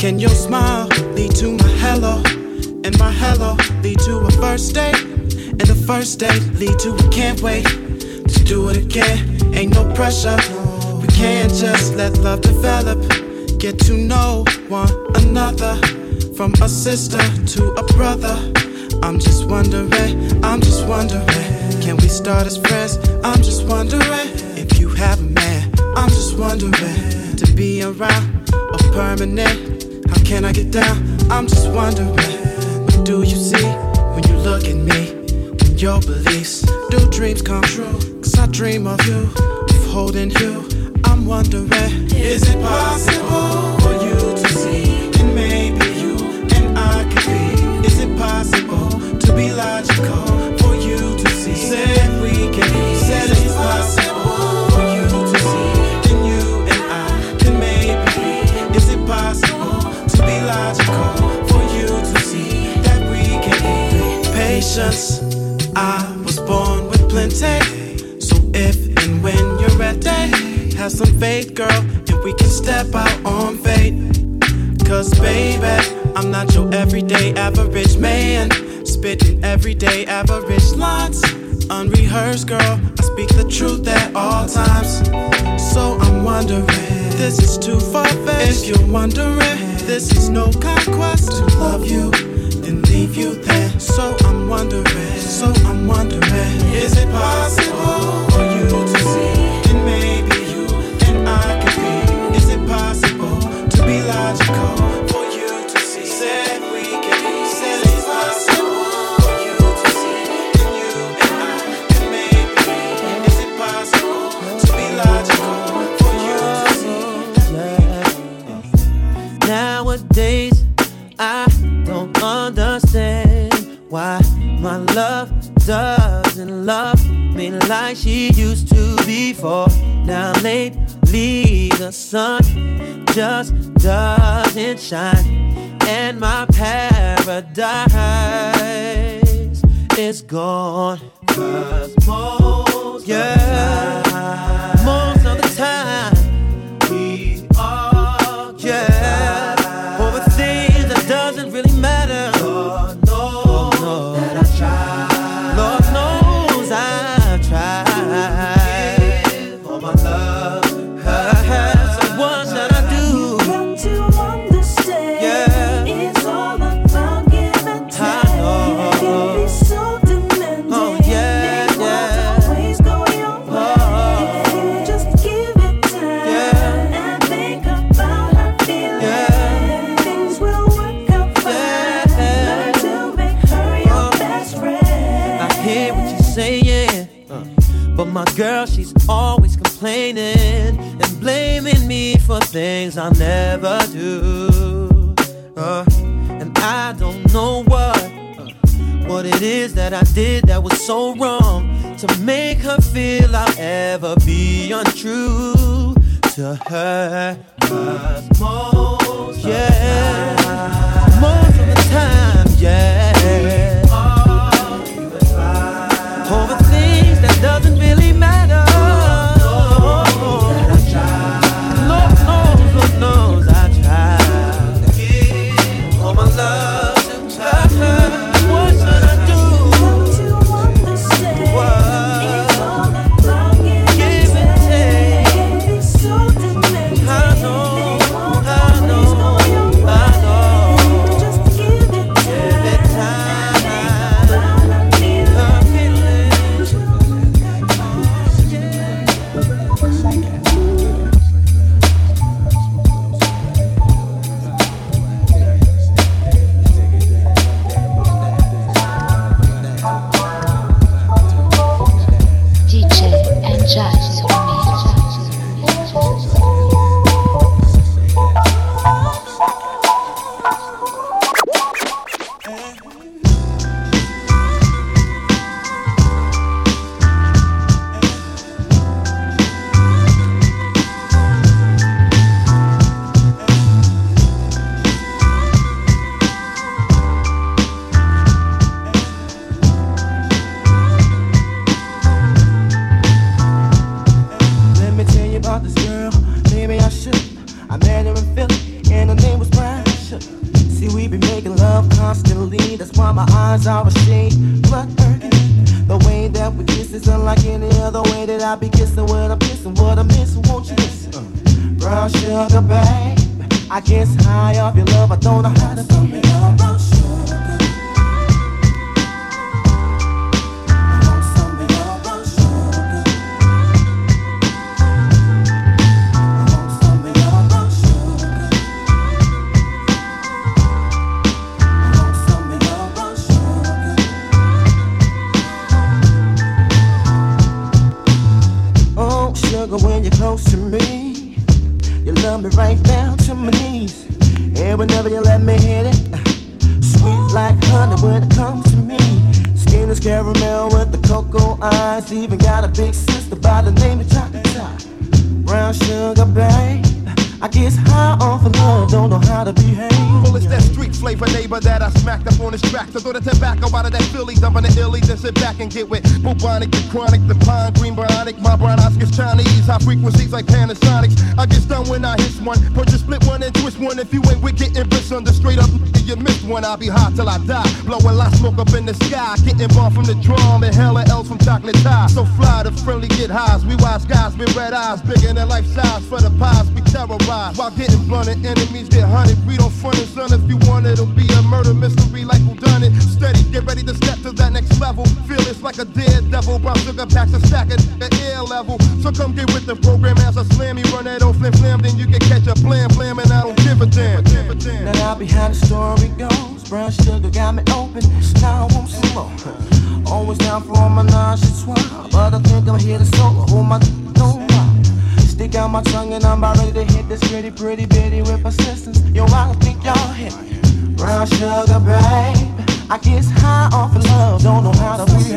Can your smile lead to my hello? And my hello lead to a first date? And the first date lead to a can't wait to do it again. Ain't no pressure. We can't just let love develop. Get to know one another. From a sister to a brother. I'm just wondering, can we start as friends? I'm just wondering if you have a man. I'm just wondering to be around or permanent. How can I get down? I'm just wondering, what do you see when you look at me? When your beliefs do dreams come true? Cause I dream of you, of holding you. I'm wondering, is it possible for you to see? And maybe you and I could be. Is it possible to be logical for you to see? Said we can be. Said it's possible for you to see. And you and I can maybe be. Is it possible to be logical for you to see that we can be? Patience, I was born with plenty. So if and when you're ready, have some faith, girl, and we can step out on faith. Cause baby, I'm not your everyday average man, spitting everyday average lines. Unrehearsed, girl, I speak the truth at all times. So I'm wondering, this is too far-fetched. If you're wondering, this is no conquest. To love you, then leave you there. So I'm wondering, is it possible for you to see? And maybe you and I could be. Is it possible to be logical for you to see? Said we can be. Said it's possible for you to see. And you and I can maybe be. Is it possible to be logical for you to see? Nowadays, I don't understand why my love doesn't love me like she used to before. Now lately the sun just doesn't shine, and my paradise is gone. 'Cause most of the time we argue over things that doesn't really matter. Lord knows that I tried. Lord knows I tried for my love. So what should I do? Got to understand, it's all about give and take. I know. It can be so demanding. Oh yeah, it won't always go your way. If you just give it time and think about her feelings, things will work out fine. Learn to make her your best friend. I hear what you're saying, but my girl, she's always complaining and blaming me for things I'll never do. And I don't know what it is that I did that was so wrong to make her feel I'll ever be untrue to her. 'Cause most of the time, over things that doesn't really matter. Lord knows I tried for my love to her. What should I do? Got to understand, it's all about give and take. It can be so demanding. I know. Just give it time. DJ and Jazz Let me tell you about this girl. Maybe I should. I met her in Philly, and her name was Brian. sugar. See, we be making love constantly. That's why my eyes are a shade blood burgundy. The way that we kiss is unlike any other way that I be kissing when I'm kissing. What I miss, won't you listen? Brown sugar, babe. I guess high off your love, I don't know how to do it. Brown sugar. When you're close to me, you love me right down to my knees. And whenever you let me hit it, sweet like honey when it comes to me. Skin is caramel with the cocoa eyes. Even got a big sister by the name of Chocolate. Brown sugar, babe. I guess high off of love, don't know how to behave. Well, it's that street flavor neighbor that I smacked up on this track. So throw the tobacco out of that Philly, dumping the illy, then sit back and get with bubonic, the chronic, the pine, green bionic. My brown eyes gets Chinese, high frequencies like Panasonics. I get done when I hit one, purchase split one and twist one. If you ain't with getting bliss under straight up, you missed one. I'll be hot till I die, blowing lots smoke up in the sky, getting bomb from the drum and hella L's from Chocolate Tie. So fly, the friendly get highs. We wise guys with red eyes, bigger than life size. For the pies, we terrorize. While getting blunted, enemies get hunted. We don't front it, son. If you want it, it'll be a murder mystery like who done it. Steady, get ready to step to that next level. Feel it's like a daredevil. Brown sugar packs a stack at the air level. So come get with the program as I slam you. Run that old flim flam, then you can catch a blam blam, and I don't give a damn. Now behind the story goes, brown sugar got me open. Now I want some more. Always down for my nauseous swallow, but I think I'm here to solo. Hold my don't wow. Stick out my tongue and I'm about ready to hit this pretty bitty with persistence. Yo, I don't think y'all hit me. Brown sugar, babe. I guess high off of love, don't know how to behave.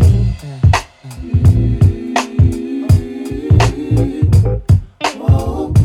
Oh,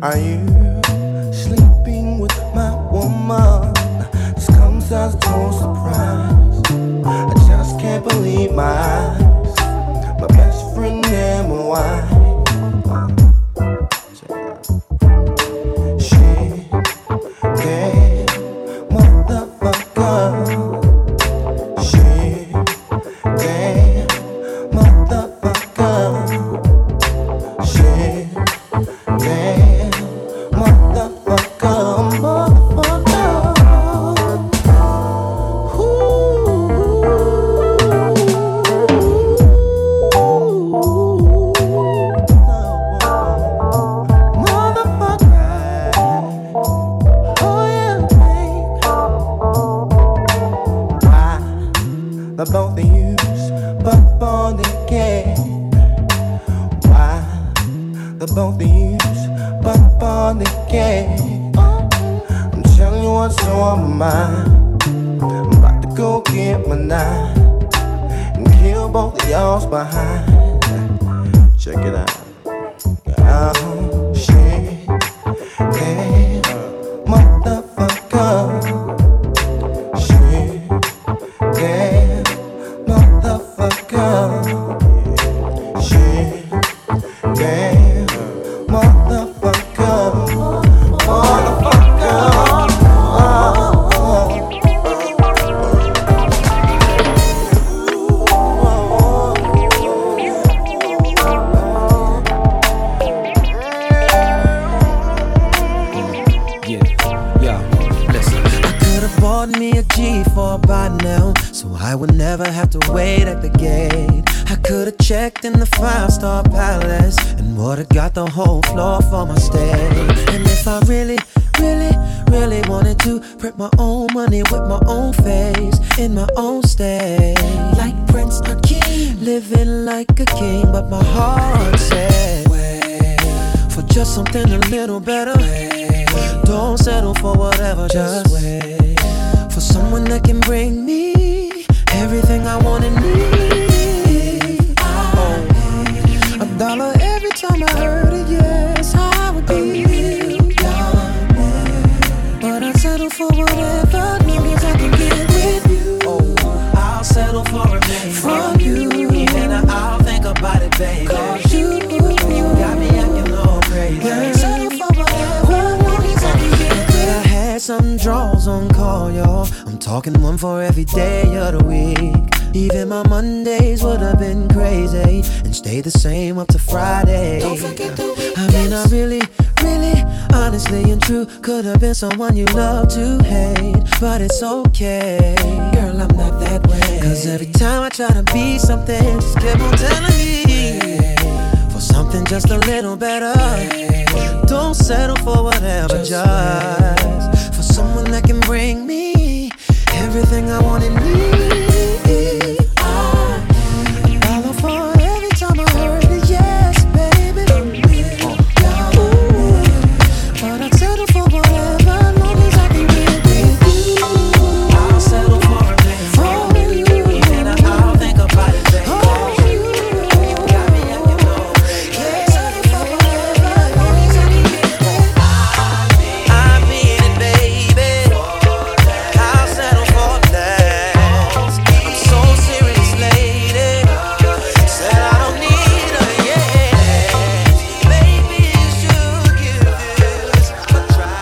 Are you sleeping with my woman? This comes as no surprise. I just can't believe my eyes. My best friend and my wife. She gave motherfucker. She gave motherfucker. She gave motherfucker. The both of you's but on the game. Why? The both of you's but on the game. I'm telling you what's on my mind. I'm about to go get my knife and kill both of y'all's behind. Check it out. Oh, shit. Hey, motherfucker. Shit. Hey, motherfucker. Shit. Hey, motherfucker. By now, so I would never have to wait at the gate. I could've checked in the 5-star palace and would've got the whole floor for my stay. And if I really wanted to print my own money with my own face in my own state, like Prince Hakeem, living like a king, but my heart said, wait for just something a little better. Don't settle for whatever, just wait for someone that can bring me everything I want and need. $1 every time I heard it, yes, I would be but I'd settle for whatever, long as I can get with you. I'll settle for a name from you, and I'll think about it, baby. 'Cause you got me acting all crazy. I'll settle for whatever, long as I can get with you. I had some draws on call, y'all. I'm talking one for every day of the week. Even my Mondays would have been crazy and stayed the same up to Friday. Don't forget the weekends. I mean, I really, honestly and true could have been someone you love to hate, but it's okay, girl, I'm not that way. 'Cause every time I try to be something, just keep on telling me for something just a little better. Don't settle for whatever, just for someone that can bring me everything I want and need. $1 for every time I heard it, yes, baby. Ooh, but I'd settle for whatever, long as I can get with you. I'll settle for a name from you, and I'll think about it, baby. You got me acting low. Yeah, settle for whatever, long as I can get with you. I mean it, baby. I'll settle for that. I'm so serious, lady. Said I don't need her, yeah. Maybe you should give this a try,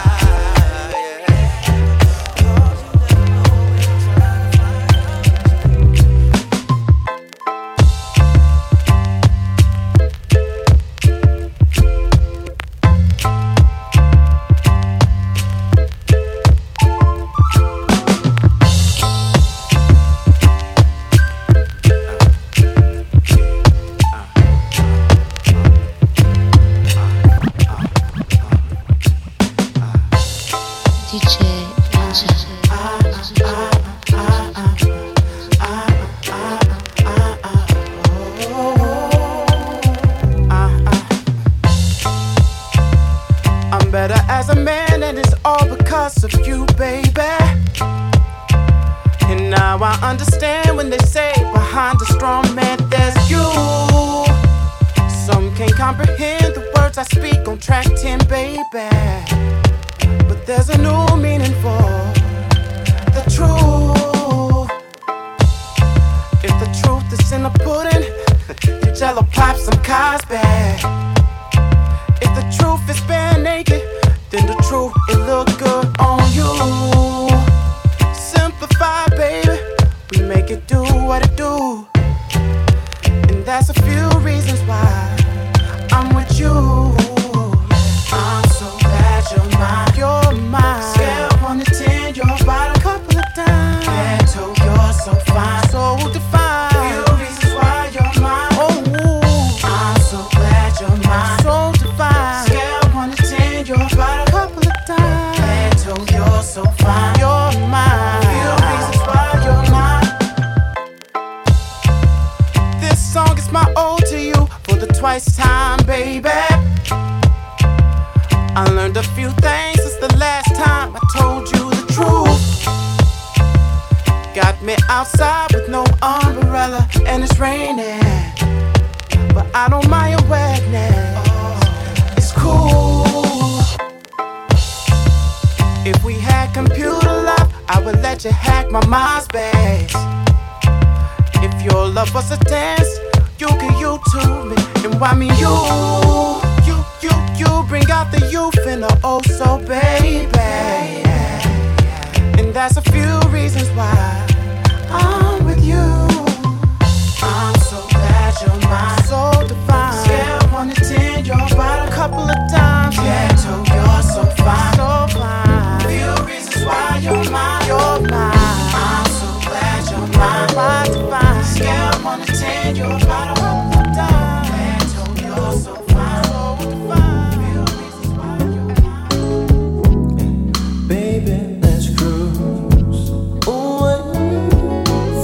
DJ I'm better as a man, and it's all because of you, baby. And now I understand when they say behind a strong man there's you. Some can't comprehend the words words I speak on track 10, baby. But there's a new meaning for the truth. If the truth is in the pudding, you jello pop some Cosby. If the truth is bare naked, then the truth, it look good on you. Simplify, baby, we make it do what it do. And that's a few reasons why I'm with you. I'm so glad you're mine. You're mine. Scale 1 to 10, you're about a couple of times. Ghetto, you're so fine, so defined. Few reasons why you're mine. Oh, I'm so glad you're mine. So defined. Scale 1 to 10, you're about a couple of times. Ghetto, you're so fine. You're mine. Few reasons why you're mine. This song is my ode to you for the twice time, baby. I learned a few things since the last time I told you the truth. Got me outside with no umbrella and it's raining, but I don't mind your wetness. It's cool. If we had computer love, I would let you hack my MySpace. If your love was a dance, you can YouTube me and why me you bring out the youth in the oh so baby. And that's a few reasons why I'm with you. I'm so glad you're mine, so defined. Scale 1 to 10, you're about a couple of times. Ghetto, you're so fine, so fine. Few reasons why you're mine, you're mine. I'm so glad you're mine, by divine. Scale 1 to 10, you're about a couple of times. Ghetto, you're so fine, so defined. Few reasons why you're mine. Baby, let's cruise away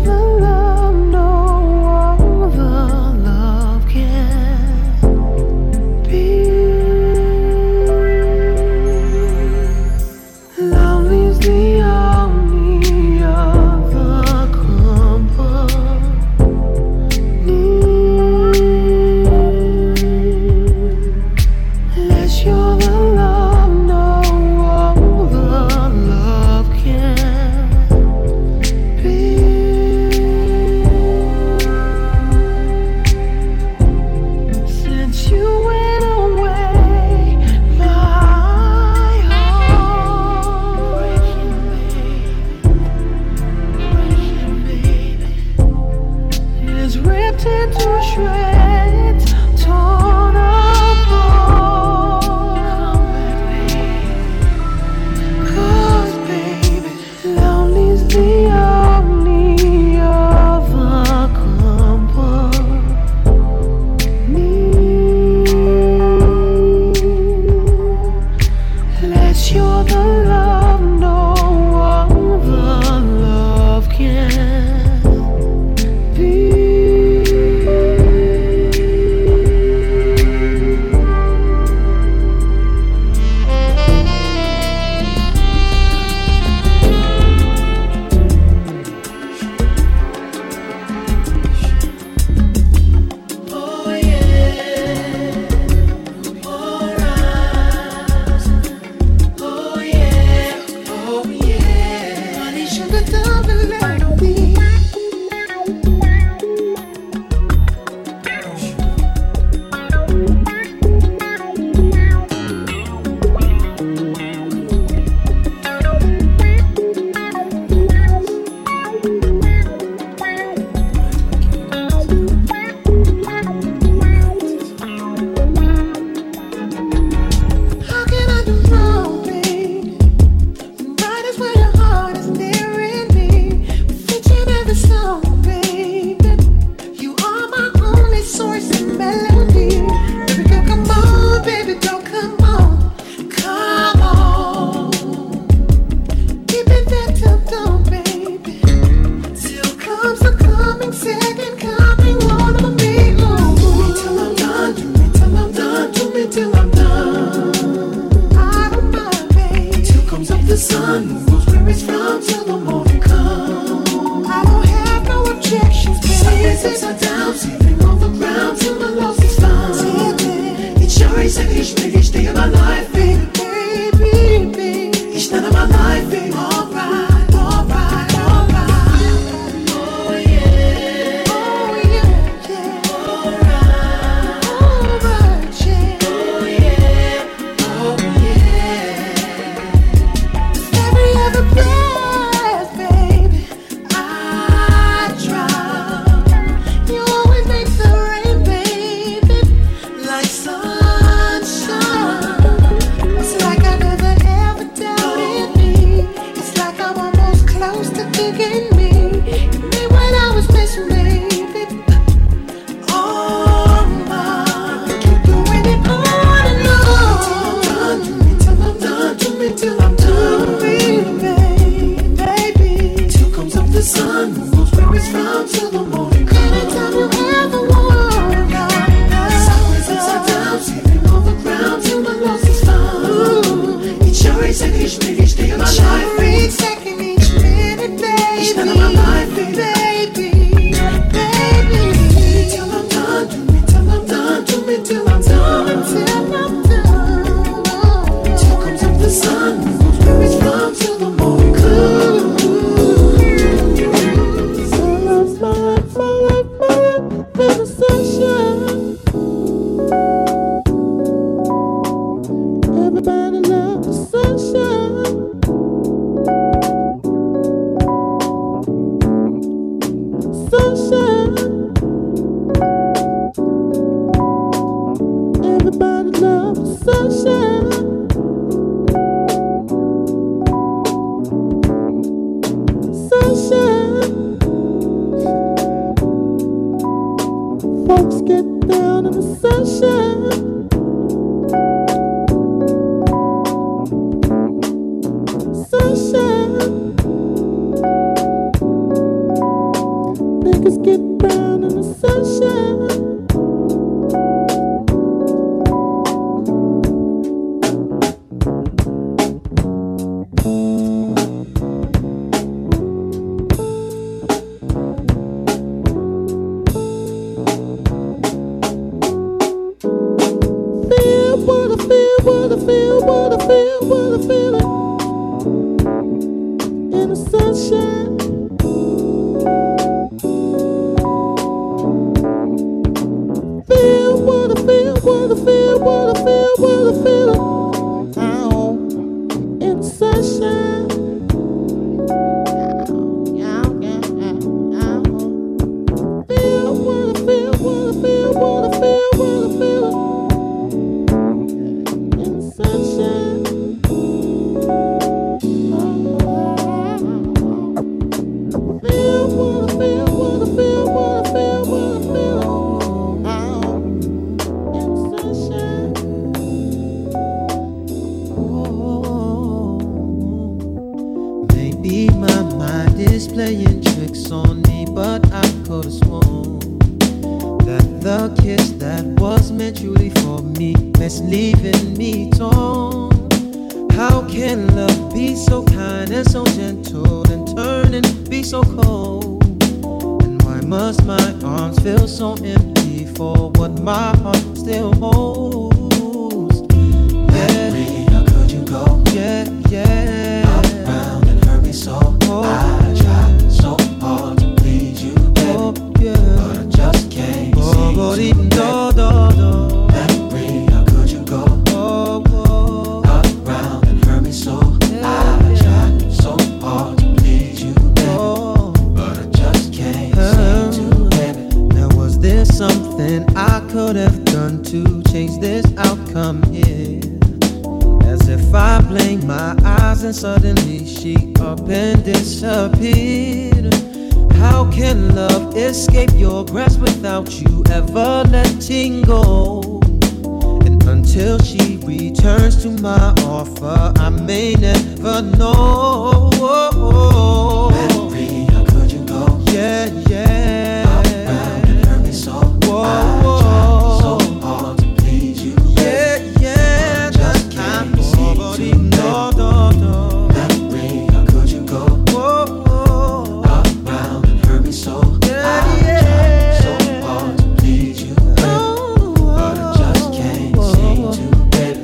the love no other love can be. Lonely's the only other company. Unless you're the love no other love can be. Since you went away, my heart breaking, baby, is ripped into shreds, torn apart. 'Cause baby, lonely's the only other company. Unless you're the love no other love can be. Oh yeah, alright. Oh yeah, honey, sugar, double like me. How can I do wrong, baby? Right is where your heart is nearing me. Featured every song, baby. You are my only source of melody. Baby girl, come on, baby, don't come on, come on. Keep it there till dawn, baby. Till comes the coming second coming on of me. Ooh. Do me till I'm done, do me till I'm done, do me till I'm done. I don't mind, baby. Till comes up the sun, knows where it's from till the morning comes. I don't have no objections, baby. Sideways, upside down, sleeping on the ground till my loss is found. It's your each minute, each day of my life, baby, baby. Each night of my life, baby. Alright, alright, alright. Oh yeah, yeah. Alright, alright, yeah. Oh yeah, every other breath, baby, I try. You always make the rain, baby, like sunshine. It's like I never ever doubted me. It's like I'm almost close to kicking me. You made what I was missing, baby. Oh my, keep doing it on and on. Do me till I'm done, do me till I'm done, baby. Till comes up the sun, knows where it's from till the morning comes. Anytime you ever want, sideways, upside down, sleeping on the ground till my loss is found. Ooh. Each hour, each second, each minute, each day of my life, baby. Each second, each minute, baby. Each night of my life, baby. Till I'm done, do me till I'm done, do me till I'm done. Till I'm done. Till comes up the sun, knows where it's from till the morning comes. My life, my life, my life, there's a sunshine. Everybody loves the sunshine. Sunshine. Everybody loves the sunshine. Sunshine. Folks get down in the sunshine. Sunshine. Niggas get brown in the sunshine. What I feel in the sunshine. Feel what I feel in the sunshine. Feel what I feel in the sunshine. Maybe my mind is playing tricks on me, but I could have sworn that the kiss that was meant truly for me is leaving me torn. How can love be so kind and so gentle and turn and be so cold? And why must my arms feel so empty for what my heart still holds? Yeah, how could you go? Yeah, yeah. Up round and hurt me so. Oh, I tried so hard to please you, baby. Oh, yeah. But I just can't see you, baby. Memory, how could you go? Oh, oh. Up round and hurt me so. Yeah, I tried so hard to please you, baby. Oh, but I just can't seem to, baby. Now was there something I could have done to change this outcome here? As if I blinked my eyes and suddenly she up and disappeared. How can love escape your grasp without you ever letting go? And until she returns to my offer, I may never know. Memory, how could you go? Yeah, yeah. Up round and hurt me so. Whoa, I tried so hard to please you. Yeah, yeah. But I just can't seem to, baby. Memory, how could you go? Whoa, up round and hurt me so. Yeah, I tried so hard to please you, baby. But I just can't seem to, baby.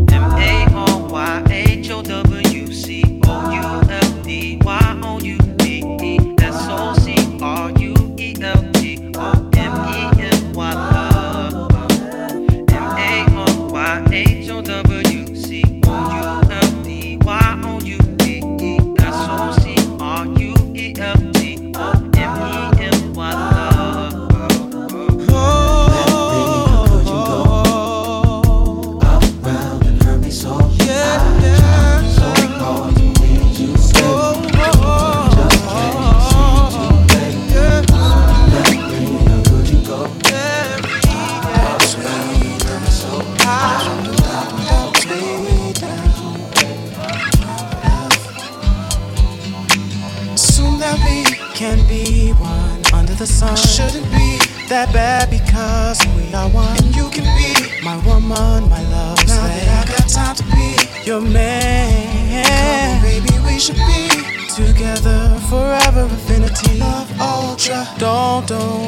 Assume that we can be one under the sun. Shouldn't be that bad because we are one. And you can be my woman, my love. Now that I got time to be your man. Come on, baby, we should be together forever, infinity. Love ultra. Don't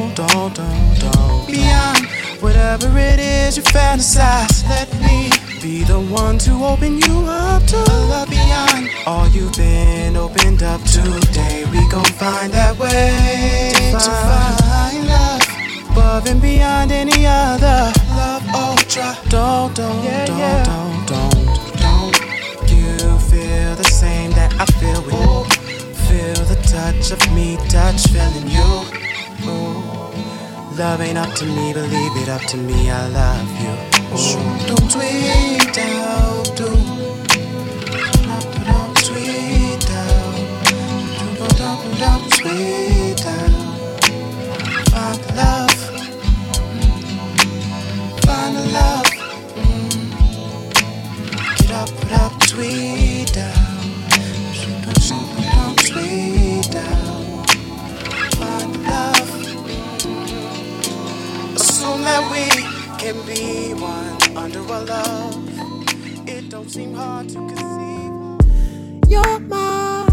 beyond whatever it is you fantasize. Let me be the one to open you up to a love beyond all you've been opened up to. Today we gon' find that way to find love above and beyond any other. Love ultra. Don't you feel the same that I feel with you? Feel the touch of me, touch feeling you. Ooh. Love ain't up to me, believe it up to me, I love you. Ooh. Don't tweet out, don't tweet out, don't tweet out. Find the love, find the love. Get up, put up, tweet out, don't tweet out. Find the love. can be one under a love. It don't seem hard to conceive. You're my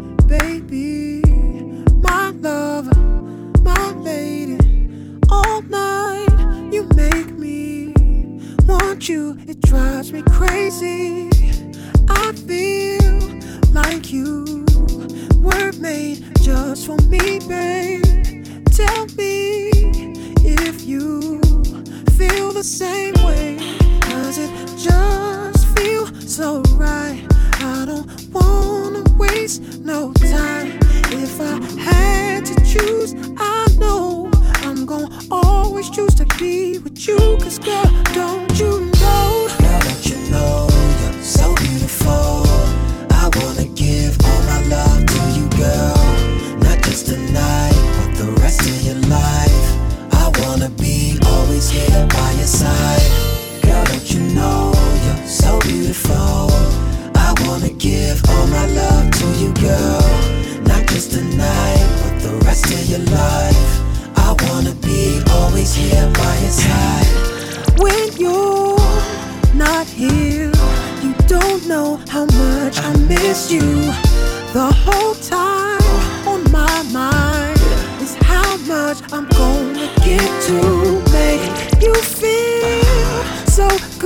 baby, my lover, my lady. All night you make me want you. It drives me crazy. I feel like you were made just for me, babe. Tell me if you feel the same way. Does it just feel so right? I don't wanna waste no time. If I had to choose, I know I'm gonna always choose to be with you. Cause girl, don't you know? Girl, don't you know you're so beautiful? I wanna give all my love to you, girl. Not just tonight, but the rest of your life. I wanna be always here by your side. Girl, don't you know you're so beautiful? I wanna give all my love to you, girl. Not just tonight, but the rest of your life. I wanna be always here by your side. When you're not here, you don't know how much I miss you. The whole time on my mind is how much I'm gonna get to make you feel so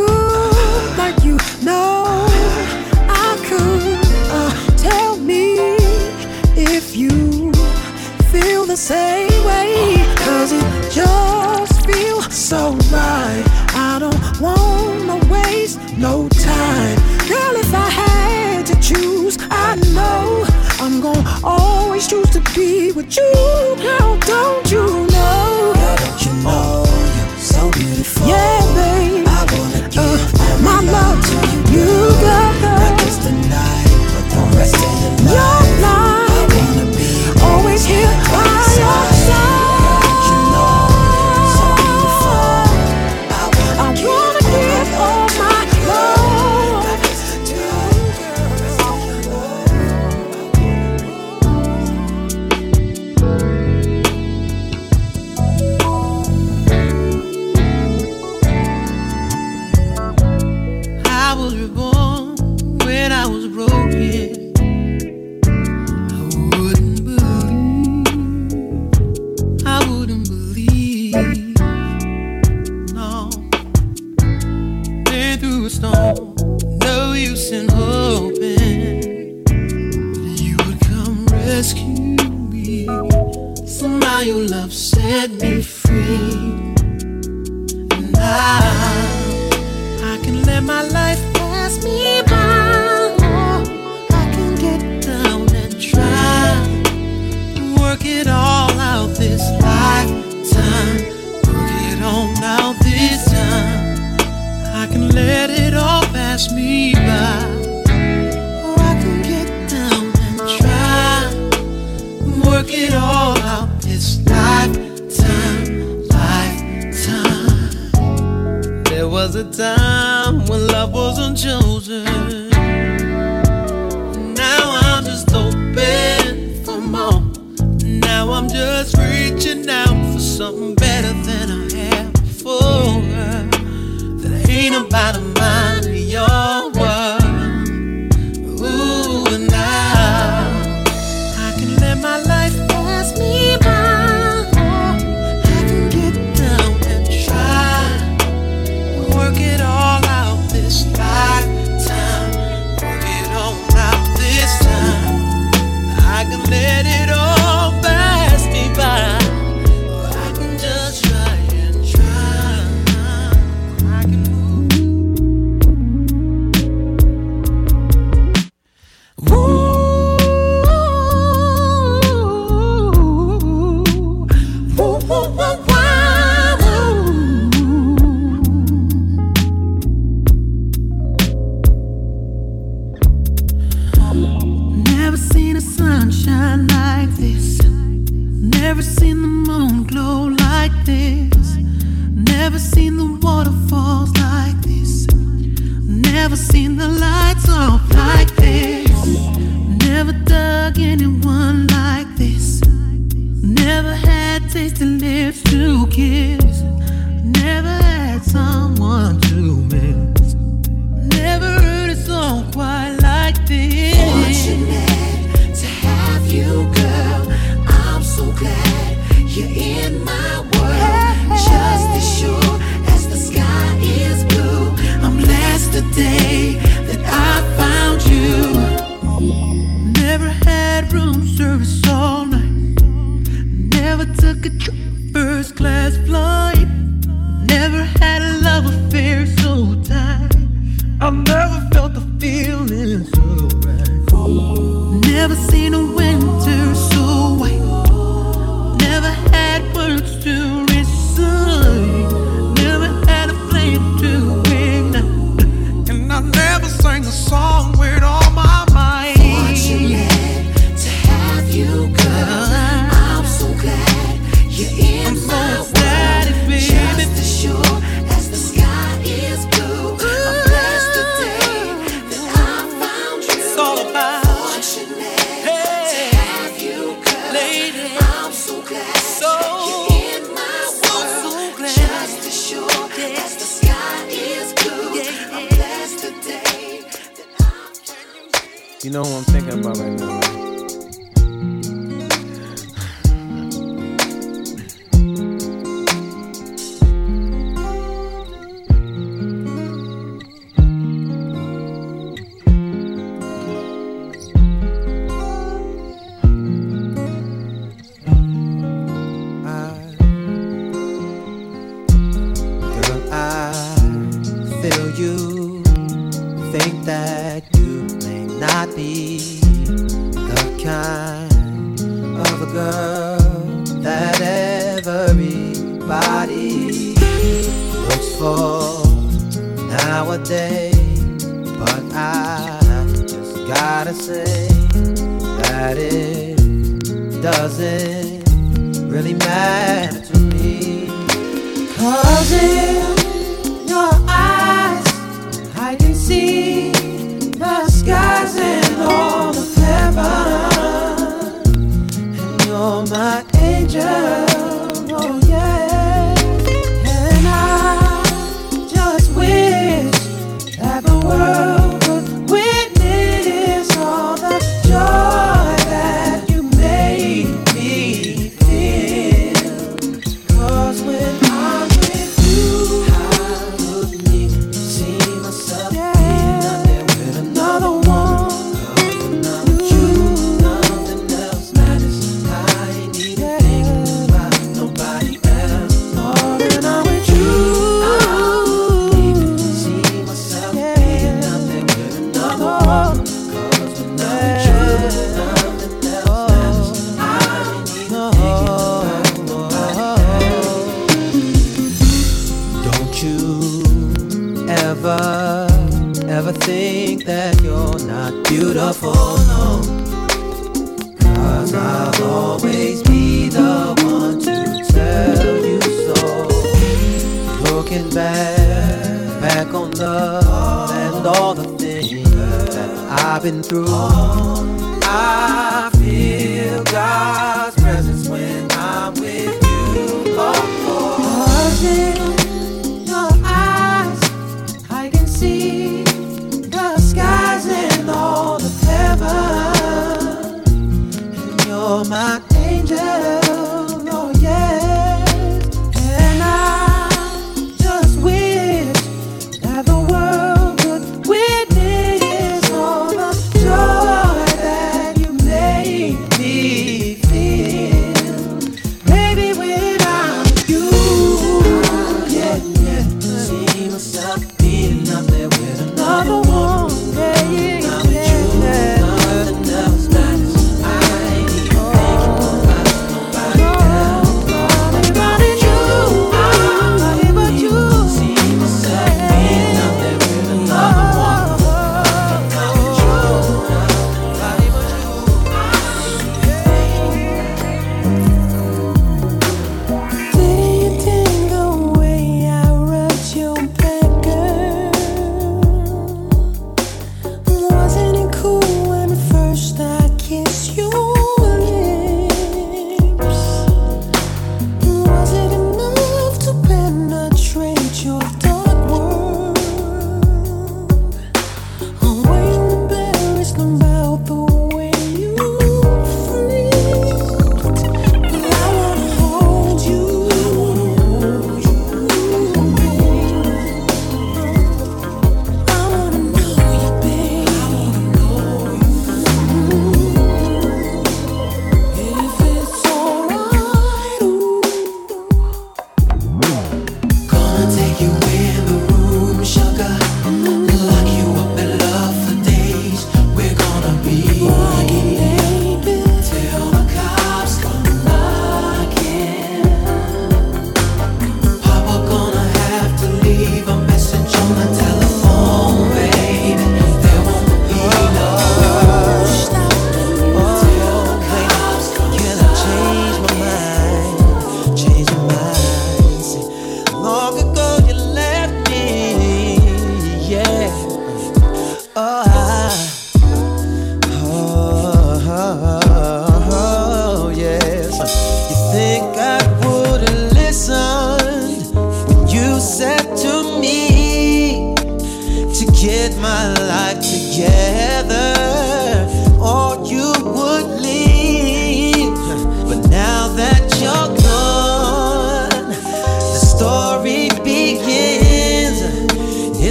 good, like you know I could. Tell me if you feel the same way. Cause it just feels so right. I don't wanna waste no time. Girl, if I had to choose, I know I'm gonna always choose to be with you. Girl, don't you know? Girl, don't you know you're so beautiful? Yeah, babe, I wanna give all my love to you, girl. Not just tonight, but the rest of your life. I wanna be always here by your side. Never had someone to miss. Never heard a song quite like this. Fortunate to have you, girl. I'm so glad you're in my world. Just as sure as the sky is blue, I'm blessed today that I found you. Never had room service all night. Never took a trip first class flight. Never had a love affair so tight. I've never felt the feeling so right. Never seen a winter so white. Never had words to recite. Never had a flame to ignite. And I never sang a song with all my might. Fortunate to have you, girl. I'm so glad you're in my world. Just as sure as the sky is blue, I'm blessed today that I found you. It's all about fortunate to have you, girl. Lady, I'm so glad you're in my world. Just as sure as the sky is blue, I'm blessed today that I found you. You know who I'm thinking about right now, right? Girl, I feel you. Think that you may not be the kind of a girl that everybody looks for nowadays. But I just gotta say that it doesn't really matter to me. 'Cause in your eyes I can see the skies and all of heaven. And you're my angel, oh yeah. And I just wish that the world could witness all the joy that you made me feel. 'Cause when I'm with you, I wouldn't see myself being out there with another one. 'Cause when I'm with you, nothing else matters. I ain't even thinking about nobody else. Oh, when I'm with you, I wouldn't even see myself being out there with another one. 'Cause when I'm with you, nothing else matters. I ain't even thinking about nobody else. Don't you ever think that you're not beautiful, no. 'Cause I'll always be the one to tell you so. Looking back on love and all the things that I've been through, I feel God's presence when I'm with you. Oh, 'cause in your eyes I can see the skies and all of heaven. And you're my angel, oh yeah. And I just wish that the world could witness all the joy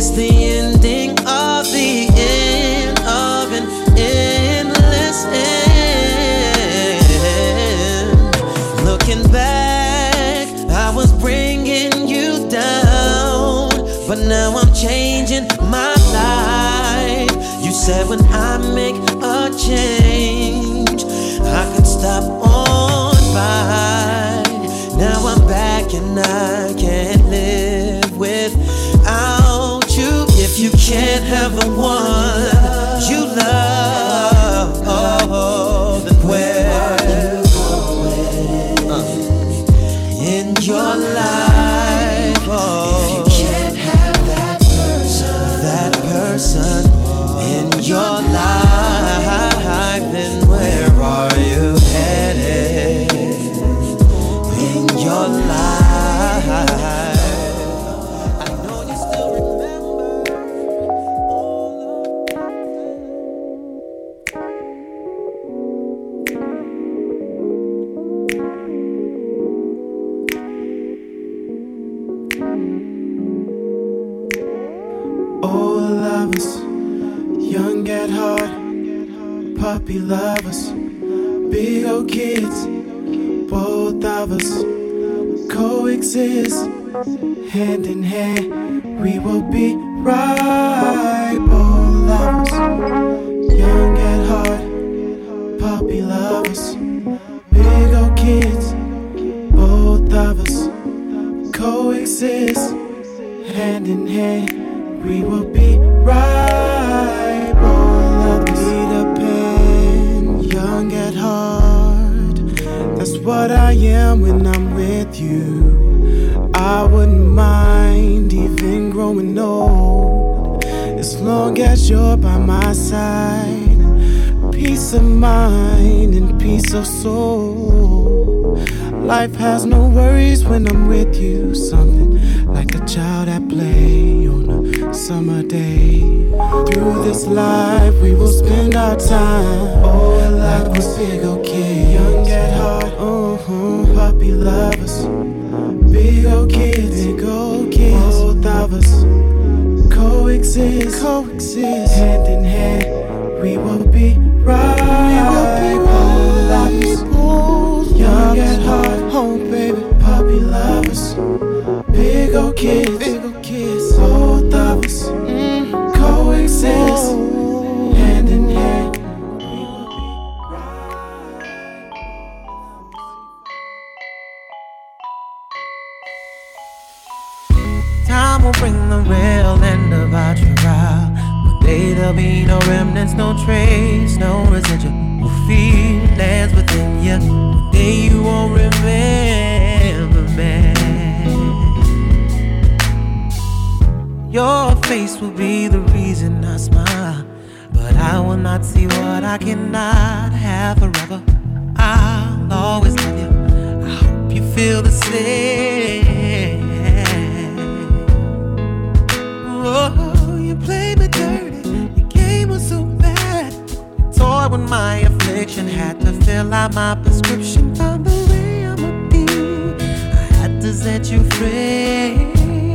It's the ending of the end of an endless end. Looking back, I was bringing you down, but now I'm changing my life. You said when I make a change, I could stop on by. Now I'm back and I can't live without you. If you can't have the one you love, then where are you going in your life? If you can't have that person in your life, then where are you headed in your life? I know you still remember. Old lovers, young at heart, puppy lovers, big old kids, both of us coexist, hand in hand, we will be right. Old lovers, young at heart, puppy lovers, big old kids, both of us coexist, hand in hand, we will be right. Old lovers, Peter Pan, young at heart, that's what I am when I'm with you. I wouldn't mind even growing old, as long as you're by my side. Peace of mind and peace of soul. Life has no worries when I'm with you. Something like a child at play on a summer day. Through this life we will spend our time, oh, like we're big old kids, young at heart, puppy lovers, big old kids, both of us coexist, hand in hand, we will be right. Old lovers, young at heart, oh baby, puppy lovers, big old kids, both of us coexist, hand in hand. Time will bring the real end of our trial. One day there'll be no remnants, no trace, no residual feelings within you. One day you won't remember me. Your face will be the reason I smile, but I will not see what I cannot have forever. I'll always love you. I hope you feel the same. Oh, you played me dirty. Your game was so bad. You toyed with my affliction, had to fill out my prescription. Found the way I'ma be. I had to set you free.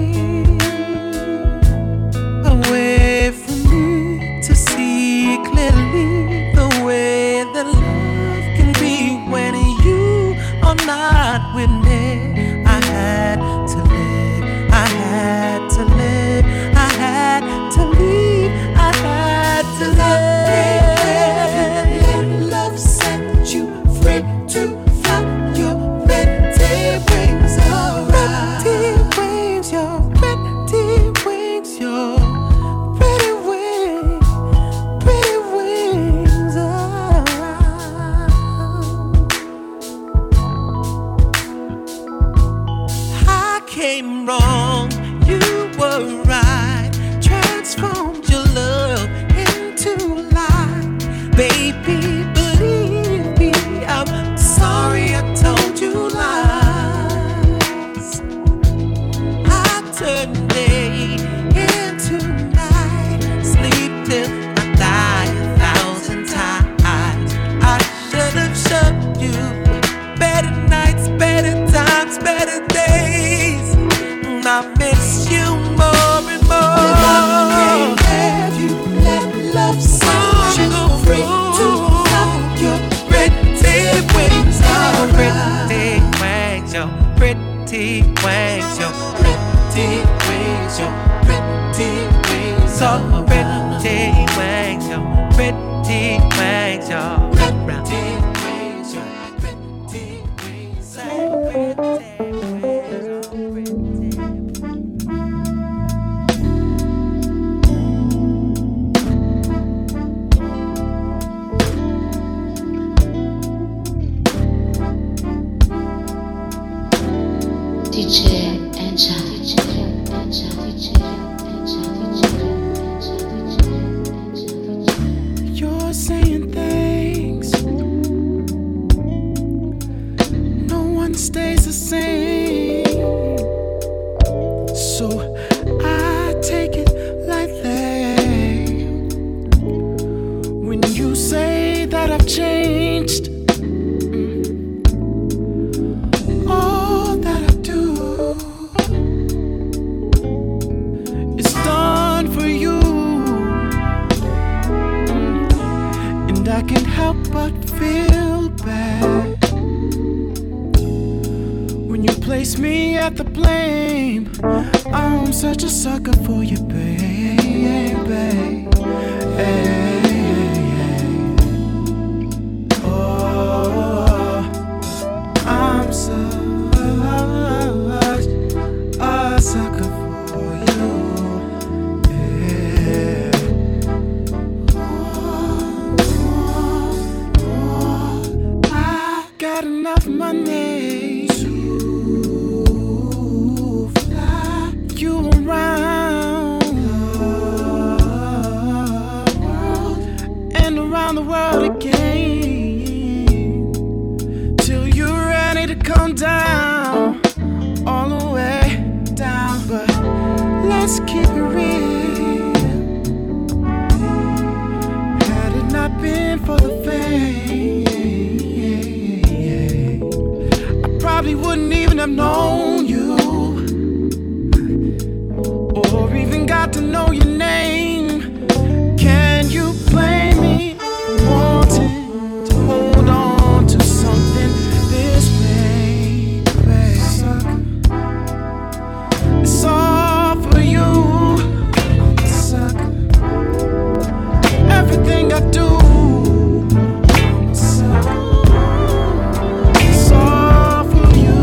Away from me to see clearly the way that love can be when you are not with me. I had to live, I had to live, I had to leave, I had to live. Love set you free to fly your pretty wings around. Pretty wings, your pretty wings, your pretty wings around. I came wrong, you were right. Transformed your love into light. Baby, believe me, I'm sorry I told you lies. I turned day into night, sleep till I die 1,000 times. I should have shown you better nights, better times, better days. I miss you more pretty wings, your pretty wings, your pretty wings, so pretty wings, your pretty wings, your pretty wings, your pretty wings, so pretty. You're saying things, no one stays the same, so I take it lightly when you say that I've changed. All that I do is done for you, and I can't help but feel bad when you place me at the blame. I'm such a sucker for you, baby. Oh, I'm such a sucker for you. I got enough money to fly you around the world and around the world again, till you're ready to come down, all the way down. But let's keep it real. Had it not been for the fame, I probably wouldn't even have known you, or even got to know your name. Can you blame me for wanting to hold on to something this way, baby? It's all for you. I'm a sucker. Everything I do, I'm a sucker. It's all for you.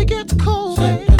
it gets cold, baby.